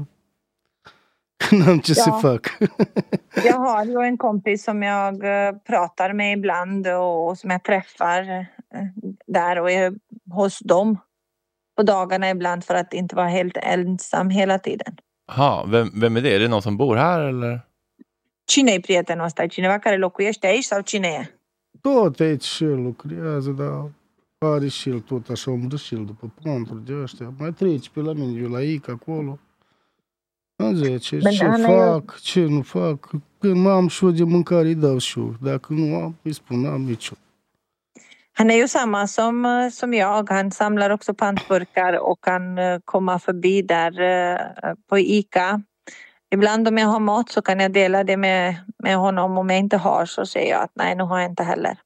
N-am ce ja. să fac. Jag har ju en kompis som jag pratar med ibland och som jag träffar där och är hos dem på dagarna ibland för att inte vara helt ensam hela tiden. Ha, vem, vem är det? Är det någon som bor här eller? Cine e prietenul ăsta? E cineva care locuiește aici sau cine e? Tot aici și el lucrează, dar are și el tot așa umbră și el după ponturi de ăștia. Mai trece pe la mine, eu la Ica acolo. Îmi zice, ce fac, ce nu fac. Când am și eu de mâncare, îi dau și eu. Dacă nu am, îi spun, n-am nicio. Han är ju samma som, som jag. Han samlar också pantburkar och kan komma förbi där på Ica. Ibland om jag har mat så kan jag dela det med, med honom. Om jag inte har så säger jag att nej, nu har jag inte heller.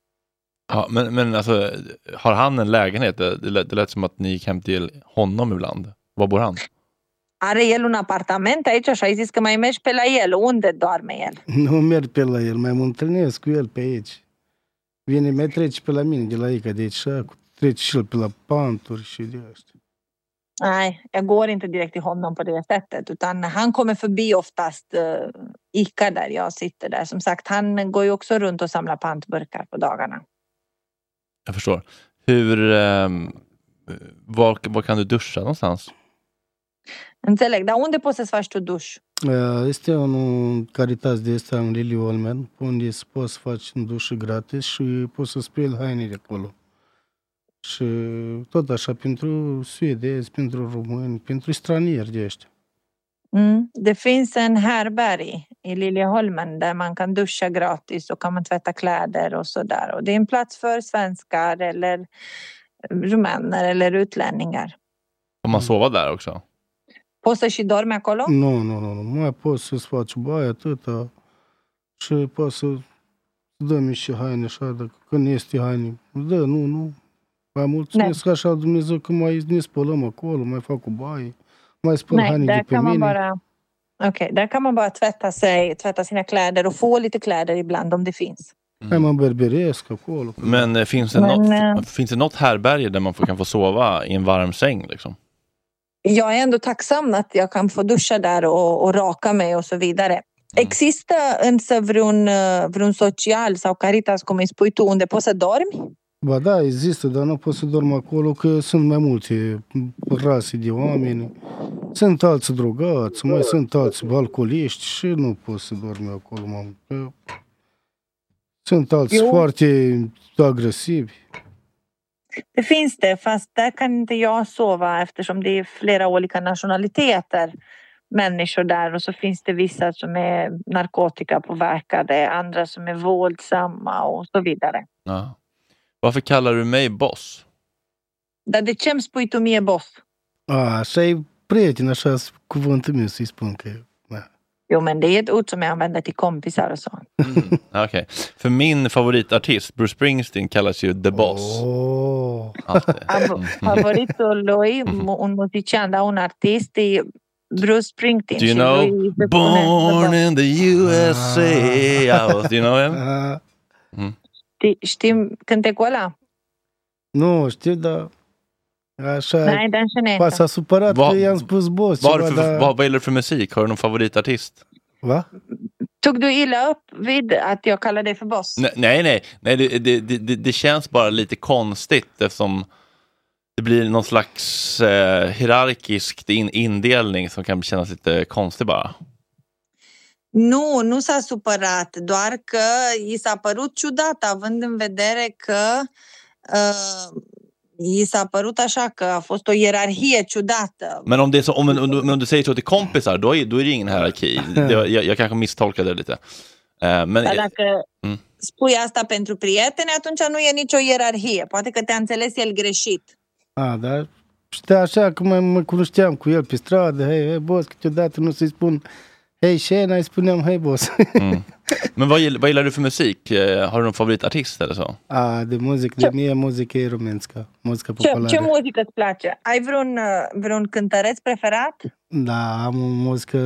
Ja, men, men alltså, har han en lägenhet? Det lät, det lät som att ni gick hem till honom ibland. Var bor han? Are el un apartament aici și ai zis că mai mergi pe la el. Unde doarme el? Nu merg pe la el, mai mă întâlnesc cu el pe aici. Vine, mai trece pe la mine de la Ica de aici, trece și el pe la panturi și de astea. Nej, jag går inte direkt till honom på det sättet, utan han kommer förbi oftast uh, Ica där jag sitter där. Som sagt, han går ju också runt och samlar pantburkar på dagarna. Jag förstår. Hur, eh, var, var kan du duscha någonstans? Înțeleg, dar unde poți să-ți faci tu duș? Este un Caritas de ăsta în Lily Olmen, unde poți să faci un duș gratis și poți să speli hainele acolo. Și tot așa pentru suedezi, pentru români, pentru stranieri de ăștia. Mm. Det finns en härberg i Liljeholmen där man kan duscha gratis och kan man tvätta kläder och så där. Och det är en plats för svenskar eller rumäner eller utlänningar. Kan man sova där också? Poți să și dormi acolo? Nu, nu, nu, nu. Mai poți să-ți faci baie atâta și poți să dă-mi și haine așa, dacă când este haine. Dă, nu, nu. Mai mulțumesc așa Dumnezeu că mai ne spălăm acolo, mai fac o baie, mai spăl haine de pe mine. Bara... Okej, okay, där kan man bara tvätta sig, tvätta sina kläder och få lite kläder ibland om det finns. Mm. Man berberesc acolo. Men eh, finns det, Men, något, äh... finns det något härberge där man får, kan få sova i en varm säng liksom? Jag är ändå tacksam att jag kan få duscha där och, och raka mig och så vidare. Mm. Există însă vreun, vreun social sau Caritas, cum îi spui tu, unde poți să dormi? Ba da, există, dar nu pot să dorm acolo, că sunt mai multe rase de oameni. Sunt alți drogați, mai sunt alți alcooliști și nu pot să dormi acolo, mamă. Sunt alți jo. foarte agresivi. Det finns det, fast där kan inte jag sova eftersom det är flera olika nationaliteter människor där, och så finns det vissa som är narkotikapåverkade, andra som är våldsamma och så vidare. Ja. Varför kallar du mig boss? Dar de ce îmi spui tu mie boss? A, așa e prieten, așa cuvântul meu să-i spun că... Da. Jo, men det är ett ord som jag använder till kompisar och så. Mm, Okej. Okay. För min favoritartist, Bruce Springsteen, kallas ju The Boss. Oh. Mm. Favoritul lui, un musician, da, un artist, e Bruce Springsteen. Do you know Born in the U S A? Do you know him? Mm. Știi cântecul ăla? Nu, știu, dar așa, Nej, den känner jag s-a supărat că i-am spus Boss. Vad gillar du för musik? Har du någon favoritartist? Va? Tog du illa upp vid att jag kallar dig för Boss? Nej, nej, nej. nej det, det, det, det känns bara lite konstigt eftersom det blir någon slags eh, hierarkisk in, indelning som kan kännas lite konstig bara. Nu, nu s-a supărat, doar că i s-a părut ciudat, având în vedere că uh, i s-a părut așa că a fost o ierarhie ciudată. Men om, det är så, om, om, om du säger så till kompisar, då är, då är det ingen hierarki. Det, jag, jag kanske misstolkade det lite. Uh, men, Dar dacă mm. spui asta pentru prieteni, atunci nu e nicio ierarhie. Poate că te-a înțeles el greșit. A, dar știa așa că mă, mă cunoșteam cu el pe stradă, hei, hei, Boss, câteodată nu să-i spun hej tjena, jag spuneam hej Boss. Mm. Men vad gillar, vad gillar du för musik? Har du någon favoritartist eller så? Ah, de muzică, de mie muzică e românska, muzică populară. Ce, ce muzică îți place? Ai vreun, vreun cântăreț preferat? Da, am o muzică,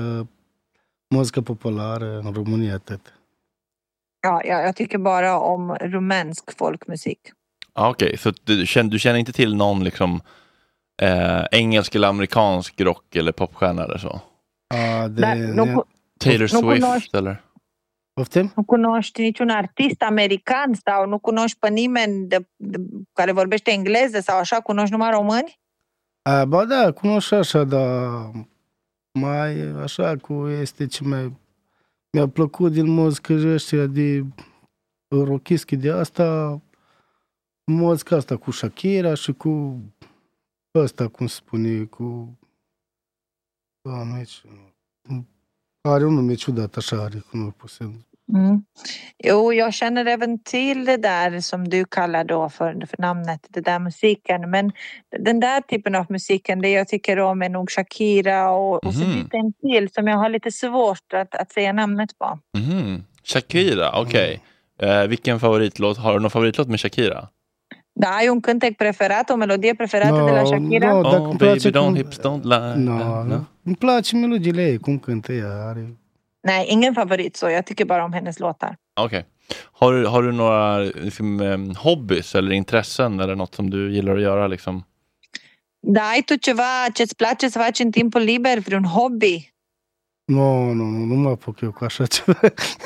muzică populară în România, atât. Ja, ja, jag tycker bara om rumänsk folkmusik. Ah, Okej, okay. Så du känner, du känner inte till någon liksom eh, engelsk eller amerikansk rock eller popstjärna eller så? Ah, det, Dar, nu, ne... Taylor nu Swift cunoști, eller? Poftim? Nu cunoști niciun artist american sau nu cunoști pe nimeni de, de, care vorbește engleză sau așa, cunoști numai români? A, ba da, cunoști așa, dar mai așa cu este ce mai mi-a plăcut din muzică ăștia de rockischi de asta, muzica asta cu Shakira și cu ăsta, cum se spune, cu doamne, are un nume ciudat așa, are, cum nu pot să... Mm. Jo, jag känner även till det där som du kallar då för, för namnet, det där musiken. Men den där typen av musiken, det jag tycker om är nog Shakira och, och så Mhm. lite en till som jag har lite svårt att, att säga namnet på. Mhm. Shakira, okej. Eh, vilken favoritlåt? Har du någon favoritlåt med Shakira? Da, ai un cântec preferat, o melodie preferată No, de la Shakira? no, dacă Oh, îmi baby, place don't cum... hips, don't lie. No, nu. Îmi place melodiile ei, cum cântă ea, are... Nej, ingen favorit så. Jag tycker bara om hennes låtar. Okej. Har du, har du några liksom, eh, hobbys eller intressen eller något som du gillar att göra liksom? Da, ai tu ceva ce-ți place să faci în timpul liber, vreun hobby? Nu, nu, nu, nu mă apuc eu cu așa ceva.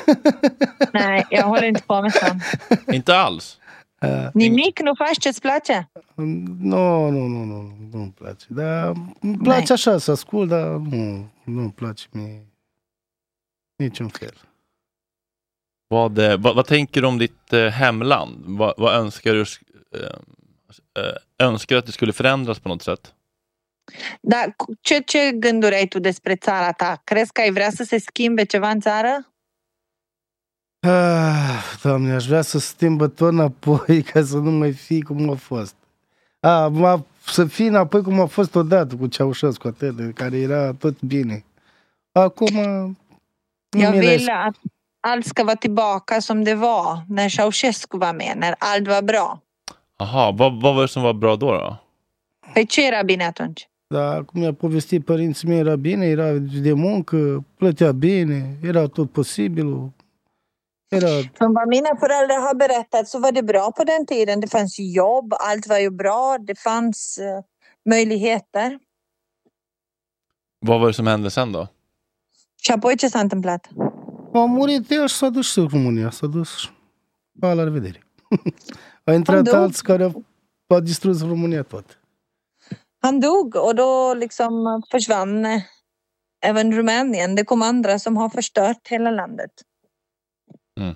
Nej, jag håller inte på med sånt. Inte alls? Nimic nu faci ce-ți place? Nu, nu, nu, nu, nu-mi place. Dar îmi place așa să ascult, dar nu, nu-mi place mie niciun fel. Vad, eh, vad, vad tänker du om ditt eh, hemland? Vad, vad önskar du eh, eh, önskar att det skulle förändras på något sätt? Da, ce, ce gânduri ai tu despre țara ta? Crezi că ai vrea să se schimbe ceva în țară? Ah, Doamne, aș vrea să schimbă tot înapoi ca să nu mai fie cum a fost. A, ma, să fie înapoi cum a fost odată cu Ceaușescu, atât, care era tot bine. Acum... Jag vill att allt ska vara tillbaka som det var när Ceausescu var med, när allt var bra. Aha, vad, vad var det som var bra då då? Păi ce era bine atunci? Da, cum mi-a povestit părinții mei, era bine, era de muncă, plătea bine, era tot posibil. Era... Som vad mina föräldrar har berättat så var det bra på den tiden. Det fanns jobb, allt var ju bra, det fanns uh, möjligheter. Vad var det som hände sen då? Și apoi ce s-a întâmplat? A murit el și s-a dus și în România, s-a dus pa, la revedere. A intrat dog. alții care au, au distrus România tot. Han dog och då liksom försvann även Rumänien. Det kom andra som har förstört hela landet. Mm.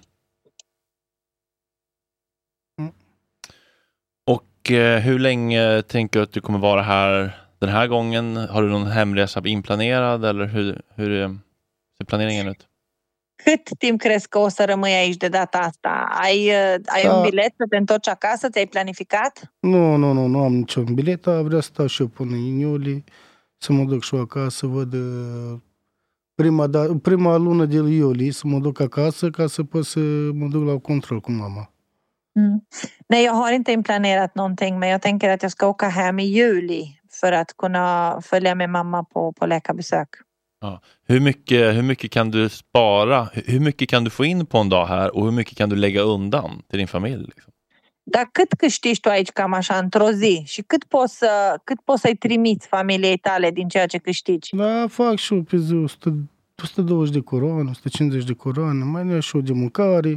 Och eh, hur länge tänker du att du kommer vara här den här gången? Har du någon hemresa inplanerad eller hur, hur eh, ser planeringen ut? Cât timp crezi că o să rămâi aici de data asta? Ai, ai Da. un bilet să te întorci acasă? Ți-ai planificat? Nu, nu, nu, nu am niciun bilet, dar vreau să stau și eu până în iulie, să mă duc și eu acasă, să văd uh, prima, da, prima lună de iulie să mă duc acasă ca să pot să mă duc la control cu mama. Mm. Nej, jag har inte inplanerat någonting, men jag tänker att jag ska åka hem i juli för att kunna följa med mamma på, på läkarbesök. Ja. Hur mycket, hur mycket kan du spara? Hur mycket kan du få in på en dag här och hur mycket kan du lägga undan till din familj? Liksom? Dar cât câștigi tu aici cam așa într-o zi? Și cât poți, să, cât poți să-i trimiți familiei tale din ceea ce câștigi? Da, fac și eu pe zi o sută douăzeci de coroane, o sută cincizeci de coroane, mai ne și eu de mâncare.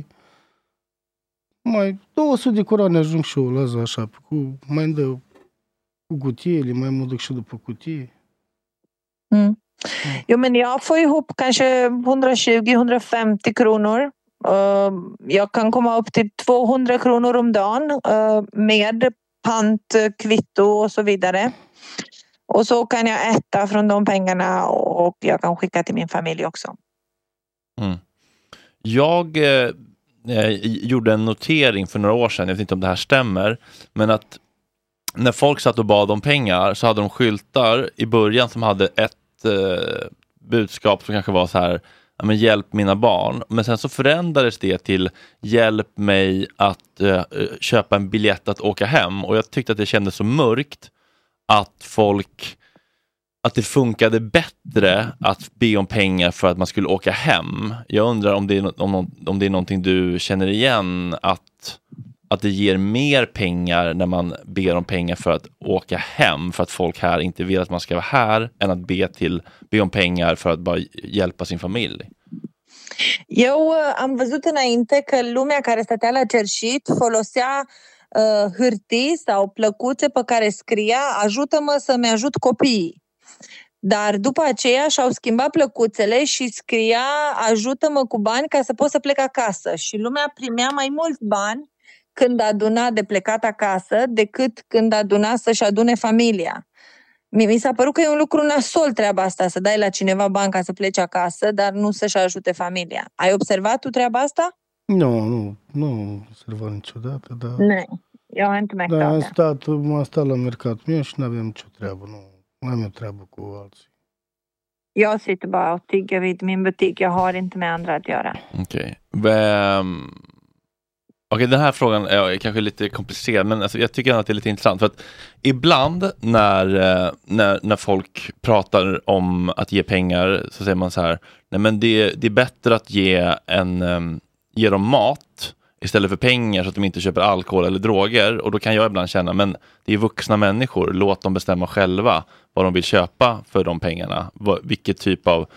Mai două sute de coroane ajung și eu la zi așa, cu, mai îmi dă cu cutiile, mai mă duc și după cutie. Mm. Jo, men jag får ihop kanske hundratjugo till hundrafemtio kronor. Uh, jag kan komma upp till tvåhundra kronor om dagen uh, med pant, kvitto och så vidare. Och så kan jag äta från de pengarna och jag kan skicka till min familj också. Mm. Jag eh, gjorde en notering för några år sedan, jag vet inte om det här stämmer, men att när folk satt och bad om pengar så hade de skyltar i början som hade ett eh, budskap som kanske var så här: ja, men hjälp mina barn. Men sen så förändrades det till hjälp mig att uh, köpa en biljett att åka hem. Och jag tyckte att det kändes så mörkt att folk, att det funkade bättre att be om pengar för att man skulle åka hem. Jag undrar om det är, om, om det är någonting du känner igen, att, att det ger mer pengar när man ber om pengar för att åka hem, för att folk här inte vill att man ska vara här, än att be, till, be om pengar för att bara hjälpa sin familj. Eu am văzut înainte că lumea care stătea la cerșit folosea uh, hârtii sau plăcuțe pe care scria ajută-mă să-mi ajut copiii. Dar după aceea și-au schimbat plăcuțele și scria ajută-mă cu bani ca să pot să plec acasă. Și lumea primea mai mulți bani când aduna de plecat acasă decât când aduna să-și adune familia. Mi s-a părut că e un lucru nasol treaba asta, să dai la cineva bani ca să pleci acasă, dar nu să-și ajute familia. Ai observat tu treaba asta? Nu, nu, nu am observat niciodată, dar... Nu, eu am inte da, am stat, m-am stat la mercatul meu și n-aveam nicio treabă, nu, nu am eu treabă cu alții. Jag sitter bara och tigger vid min butik, jag har inte med andra att göra. Okej, vem... Okej, den här frågan är kanske lite komplicerad, men alltså jag tycker att det är lite intressant. För att ibland när, när, när folk pratar om att ge pengar så säger man så här: nej, men det, det är bättre att ge, en, ge dem mat istället för pengar så att de inte köper alkohol eller droger. Och då kan jag ibland känna, men det är vuxna människor, låt dem bestämma själva vad de vill köpa för de pengarna. Vilket typ av...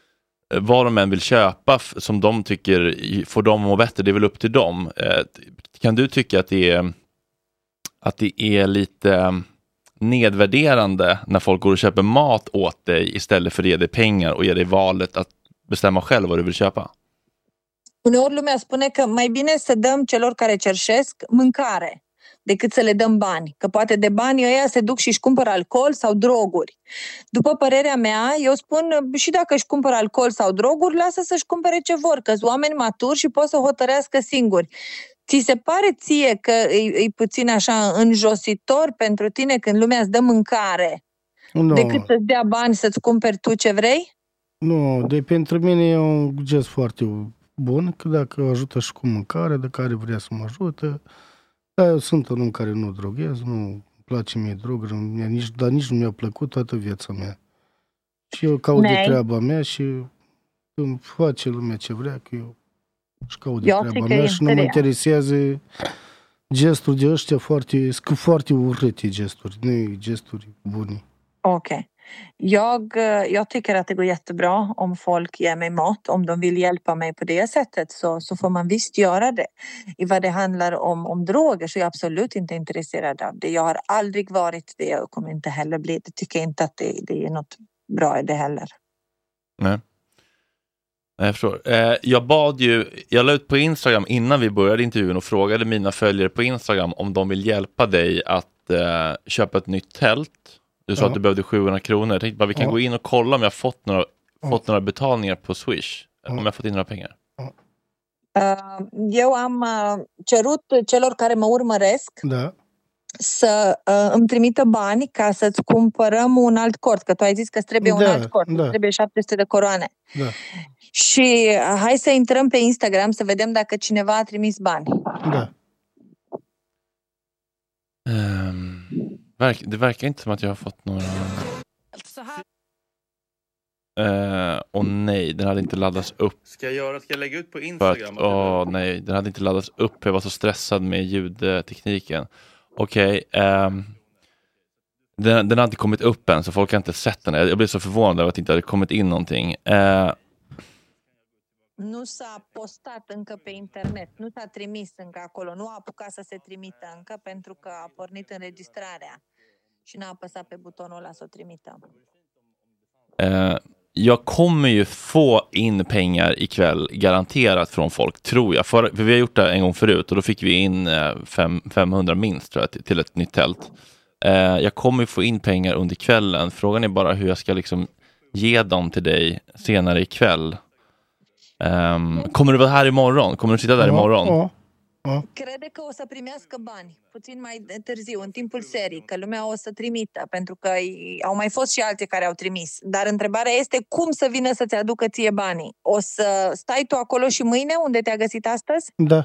vad de än vill köpa som de tycker får dem må bättre, det är väl upp till dem. Kan du tycka att det är, att det är lite nedvärderande när folk går och köper mat åt dig istället för att ge dig pengar och ge dig valet att bestämma själv vad du vill köpa? Uneori lumea spune că mai bine să dăm celor care cerșesc mâncare decât să le dăm bani. Că poate de bani ăia se duc și își cumpără alcool sau droguri. După părerea mea, eu spun și dacă își cumpără alcool sau droguri, lasă să-și cumpere ce vor, că sunt oameni maturi și pot să hotărească singuri. Ți se pare ție că e, e puțin așa înjositor pentru tine când lumea îți dă mâncare no. decât să-ți dea bani să-ți cumperi tu ce vrei? Nu, de pentru mine e un gest foarte bun, că dacă ajută și cu mâncare, de care vrea să mă ajută. Da, eu sunt un om care nu droghez, nu place mie droguri, nici, dar nici nu mi-a plăcut toată viața mea. Și eu caut de treaba mea și îmi face lumea ce vrea, că eu își caut de treaba mea și nu mă interesează gesturi de ăștia foarte, foarte urâte gesturi, nu e gesturi bune. Ok. Jag, jag tycker att det går jättebra om folk ger mig mat. Om de vill hjälpa mig på det sättet så, så får man visst göra det. I vad det handlar om, om droger så är jag absolut inte intresserad av det. Jag har aldrig varit det och kommer inte heller bli det. Tycker inte att det, det är något bra i det heller. Nej. Jag förstår. Eh, jag bad ju, jag la ut på Instagram innan vi började intervjun och frågade mina följare på Instagram om de vill hjälpa dig att eh, köpa ett nytt tält. Du sa ja. att du behövde sjuhundra kronor. Jag tänkte bara vi kan ja. gå in och kolla om jag har fått några, ja. fått några betalningar på Swish. Ja. Om jag har fått in några pengar. Ja. Uh, eu am uh, cerut celor care mă urmăresc da. să uh, îmi trimită bani ca să-ți cumpărăm un alt cort, că tu ai zis că îți trebuie da, un alt cort, da. trebuie șapte sute de coroane. Da. Și uh, hai să intrăm pe Instagram să vedem dacă cineva a trimis bani. Da. Um, verk, det verkar inte som att jag har fått några... Uh, och nej, den hade inte laddats upp. Ska jag göra? Ska jag lägga ut på Instagram? Åh oh, nej, den hade inte laddats upp. Jag var så stressad med ljudtekniken. Okej, okay, um, den, den hade inte kommit upp än, så folk har inte sett den. Jag blev så förvånad över att det inte hade kommit in någonting. Uh, Nu s-a postat încă pe internet, nu s-a trimis încă acolo, nu a apucat să se trimită încă pentru că a pornit înregistrarea și n-a apăsat pe butonul ăla să o trimită. Uh, jag kommer ju få in pengar ikväll garanterat från folk, tror jag. För, för vi har gjort det en gång förut och då fick vi in uh, fem, femhundra minst, tror jag, till, till ett nytt tält. Uh, jag kommer ju få in pengar under kvällen. Frågan är bara hur jag ska liksom ge dem till dig senare ikväll. Um, kommer du vara här imorgon? Kommer du sitta där imorgon? Ja, ja. Crede că o să primească bani puțin mai târziu, în timpul serii, că lumea o să trimită, pentru că au mai fost și alții care au trimis. Dar întrebarea este cum să vină să-ți aducă ție banii. O să stai tu acolo și mâine unde te-a găsit astăzi? Da.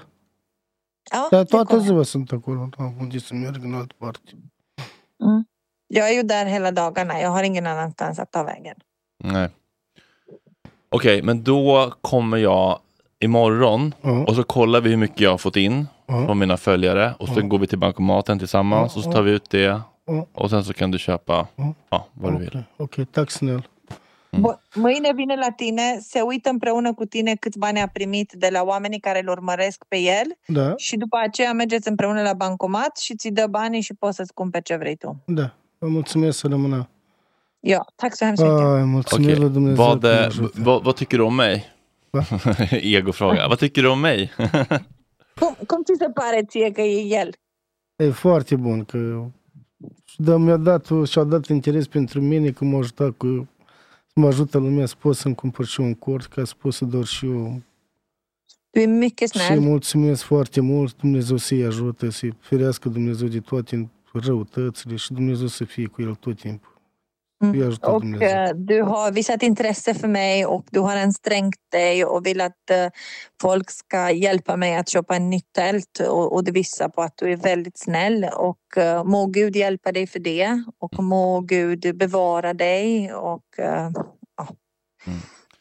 A? Da, toată ziua sunt acolo, da, unde să merg în altă parte. Mm. Jag är ju där hela dagarna. Jag har ingen annanstans att ta vägen. Nej. Okej, okay, men då kommer jag imorgon uh-huh. och så kollar vi hur mycket jag har fått in uh-huh. från mina följare och så uh-huh. går vi till bankomaten tillsammans uh-huh. och så tar vi ut det uh-huh. och sen så kan du köpa uh-huh. ja, vad okay. du vill. Okej, okay, tack snäll. Mm. Mâine vine la tine, se uită împreună cu tine câți bani a primit de la oamenii care îl urmăresc pe el da. Și după aceea mergeți împreună la bancomat și ți dă banii și poți să-ți cumperi ce vrei tu. Da, vă mulțumesc să rămână. Ja, tack så hemskt mycket. Okej, okay. vad, vad, vad tycker du om mig? Egofråga. Vad tycker du om mig? cum, cum ți se pare ție că e el? E foarte bun, că da, mi-a dat, și-a dat interes pentru mine, că m-a ajutat cu, să mă ajută lumea să pot să-mi cumpăr și un cort, ca să pot să dor și eu. Tu e mycket snäll. Și mulțumesc foarte mult, Dumnezeu să-i ajută, să-i ferească Dumnezeu de toate răutățile și Dumnezeu să fie cu el tot timpul. Mm. Och uh, du har visat intresse för mig och du har ansträngt dig och vill att uh, folk ska hjälpa mig att köpa en nytt tält och, och det visar på att du är väldigt snäll och uh, må Gud hjälpa dig för det och må Gud bevara dig och uh, ja. Mm.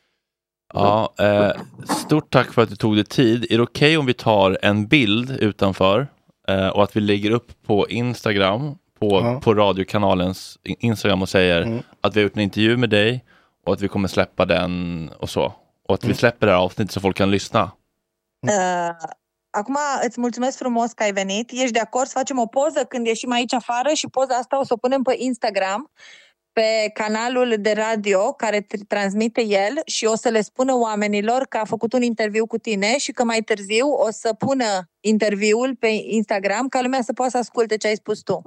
Ja, eh, stort tack för att du tog dig tid. Är det okej okay om vi tar en bild utanför eh, och att vi lägger upp på Instagram På, ja. på radiokanalens Instagram och säger mm. att vi har gjort en intervju med dig och att vi kommer släppa den och så. Och att mm. vi släpper det här avsnittet så folk kan lyssna. Uh, acum îți mulțumesc frumos că ai venit. Ești de acord să facem o poză când ieșim aici afară și poza asta o să o punem pe Instagram, pe canalul de radio care transmite el și o să le spună oamenilor că a făcut un interviu cu tine și că mai târziu o să pună interviul pe Instagram ca lumea să poată să asculte ce ai spus tu.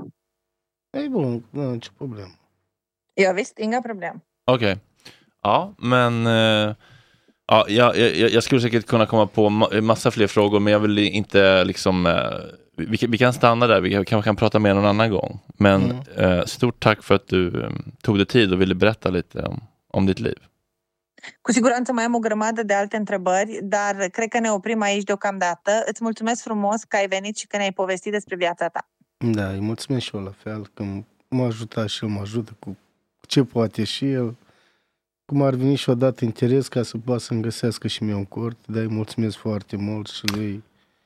E bun, nu har inte problem. Ja visst, inga problem. Okej. Okay. Ja, men uh, ja, jag, jag, jag skulle säkert kunna komma på ma- massa fler frågor, men jag vill inte liksom uh, vi, vi kan stanna där, vi kan, kan prata mer någon annan gång. Men mm. uh, stort tack för att du um, tog dig tid och ville berätta lite om, om ditt liv. Cu siguranță mai am o grămadă de alte întrebări, dar cred că ne oprim aici deocamdată. Îți mulțumesc frumos că ai venit și că ne-ai povestit despre viața ta. Da, îi mulțumesc și eu la fel, că m-a ajutat și el, mă ajută cu ce poate și el. Cum ar veni și-o dat interes ca să poată să-mi găsească și mie un cort, dar îi mulțumesc foarte mult și lui.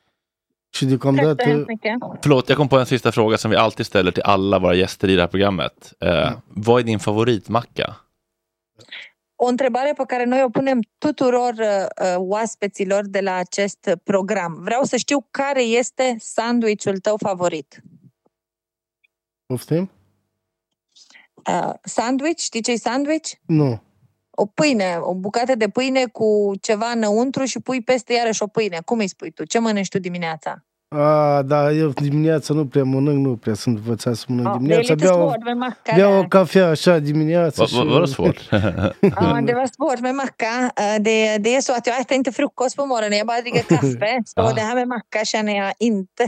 Și deocamdată... Förlåt, jag kom på en sista fråga som vi alltid ställer till alla våra gäster i det här programmet. Eh, ja. Vad är din favoritmacka? O întrebare pe care noi o punem tuturor uh, oaspeților de la acest program. Vreau să știu care este sandwichul tău favorit. Poftim? Uh, sandwich? Știi ce-i sandwich? Nu. O pâine, o bucată de pâine cu ceva înăuntru și pui peste iarăși o pâine. Cum îi spui tu? Ce mănânci tu dimineața? A, da, eu dimineața nu prea mănânc, nu prea sunt învățat să mănânc oh, dimineața. Beau, beau o cafea așa dimineața. Vad var det svårt? Ja, det var svårt med macka. Det, det är så att jag äter inte frukost på morgonen, jag bara dricker kaffe. Så det här med macka känner jag inte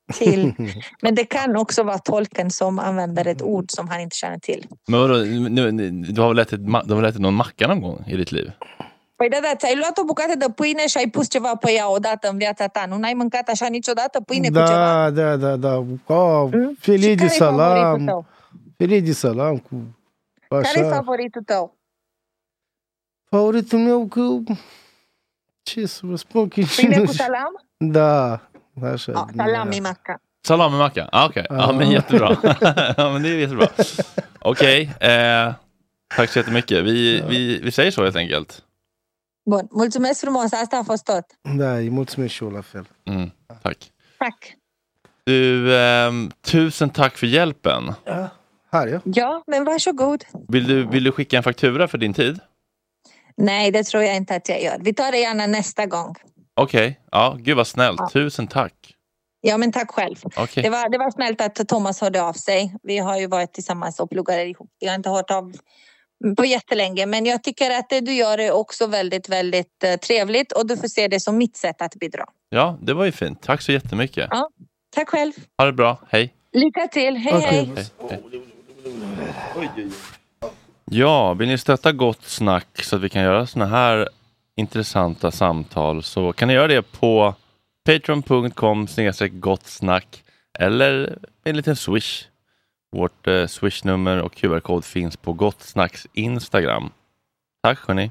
till. Men det kan också vara tolken som använder ett ord som han inte känner till. Men vadå, nu, du har väl ätit, du har väl ätit någon macka någon gång i ditt liv? Păi da, da, ți-ai luat o bucată de pâine și ai pus ceva pe ea odată în viața ta. Nu n-ai mâncat așa niciodată pâine da, cu ceva? Da, da, da. Oh, mm? Filet de salam. Filet de salam cu așa. Care e favoritul tău? Favoritul meu că... Ce să vă spun? Că pâine cu salam? Da, așa. Oh, salami macca. Salami macca, ah, okej. Okay. Ja, men jättebra. Ja, men det är jättebra. Okej, okay, eh, tack så jättemycket. Vi, vi, vi säger så helt enkelt. Bun, mulțumesc frumos, asta a fost tot. Da, îi mulțumesc și eu la fel. Mm, tack. Tack. Du, eh, tusen tack för hjälpen. Ja, här ja. Ja, men varsågod. Vill du, vill du skicka en faktura för din tid? Nej, det tror jag inte att jag gör. Vi tar det gärna nästa gång. Okej, okay. Ja, gud vad snällt. Ja. Tusen tack. Ja, men tack själv. Okay. Det var, det var snällt att Thomas hörde av sig. Vi har ju varit tillsammans och pluggat ihop. Jag har inte hört av på jättelänge, men jag tycker att det du gör är också väldigt, väldigt uh, trevligt och du får se det som mitt sätt att bidra. Ja, det var ju fint. Tack så jättemycket. Ja, tack själv. Ha det bra. Hej. Lycka till. Hej, okay. hej. hej, hej. Ja, vill ni stötta Gott Snack så att vi kan göra såna här intressanta samtal så kan ni göra det på patreon punkt com snedstreck gott snack eller en liten swish. Vårt eh, swish-nummer och Q R-kod finns på Gott Snacks Instagram. Tack hörni.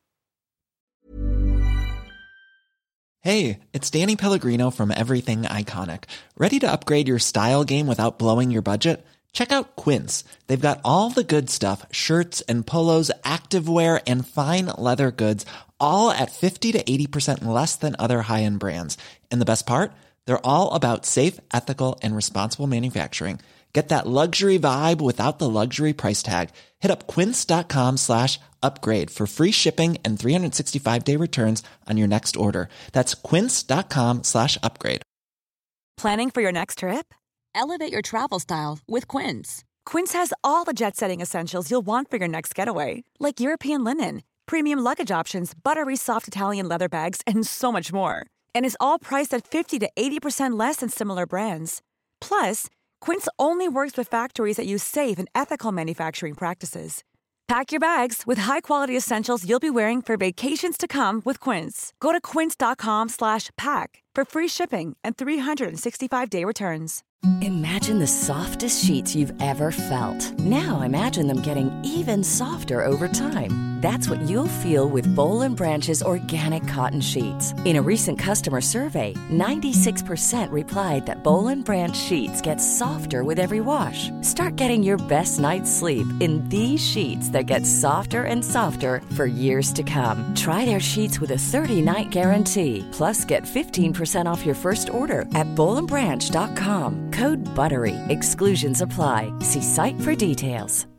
Hey, it's Danny Pellegrino from Everything Iconic. Ready to upgrade your style game without blowing your budget? Check out Quince. They've got all the good stuff, shirts and polos, activewear and fine leather goods, all at fifty to eighty percent less than other high-end brands. And the best part? They're all about safe, ethical, and responsible manufacturing. Get that luxury vibe without the luxury price tag. Hit up quince.com slash upgrade for free shipping and three sixty-five day returns on your next order. That's quince.com slash upgrade. Planning for your next trip? Elevate your travel style with Quince. Quince has all the jet-setting essentials you'll want for your next getaway, like European linen, premium luggage options, buttery soft Italian leather bags, and so much more. And is all priced at fifty to eighty percent less than similar brands. Plus, Quince only works with factories that use safe and ethical manufacturing practices. Pack your bags with high-quality essentials you'll be wearing for vacations to come with Quince. Go to quince.com slash pack for free shipping and three sixty-five day returns. Imagine the softest sheets you've ever felt. Now imagine them getting even softer over time. That's what you'll feel with Boll and Branch's organic cotton sheets. In a recent customer survey, ninety-six percent replied that Boll and Branch sheets get softer with every wash. Start getting your best night's sleep in these sheets that get softer and softer for years to come. Try their sheets with a thirty night guarantee. Plus, get fifteen percent off your first order at boll and branch dot com. Code BUTTERY. Exclusions apply. See site for details.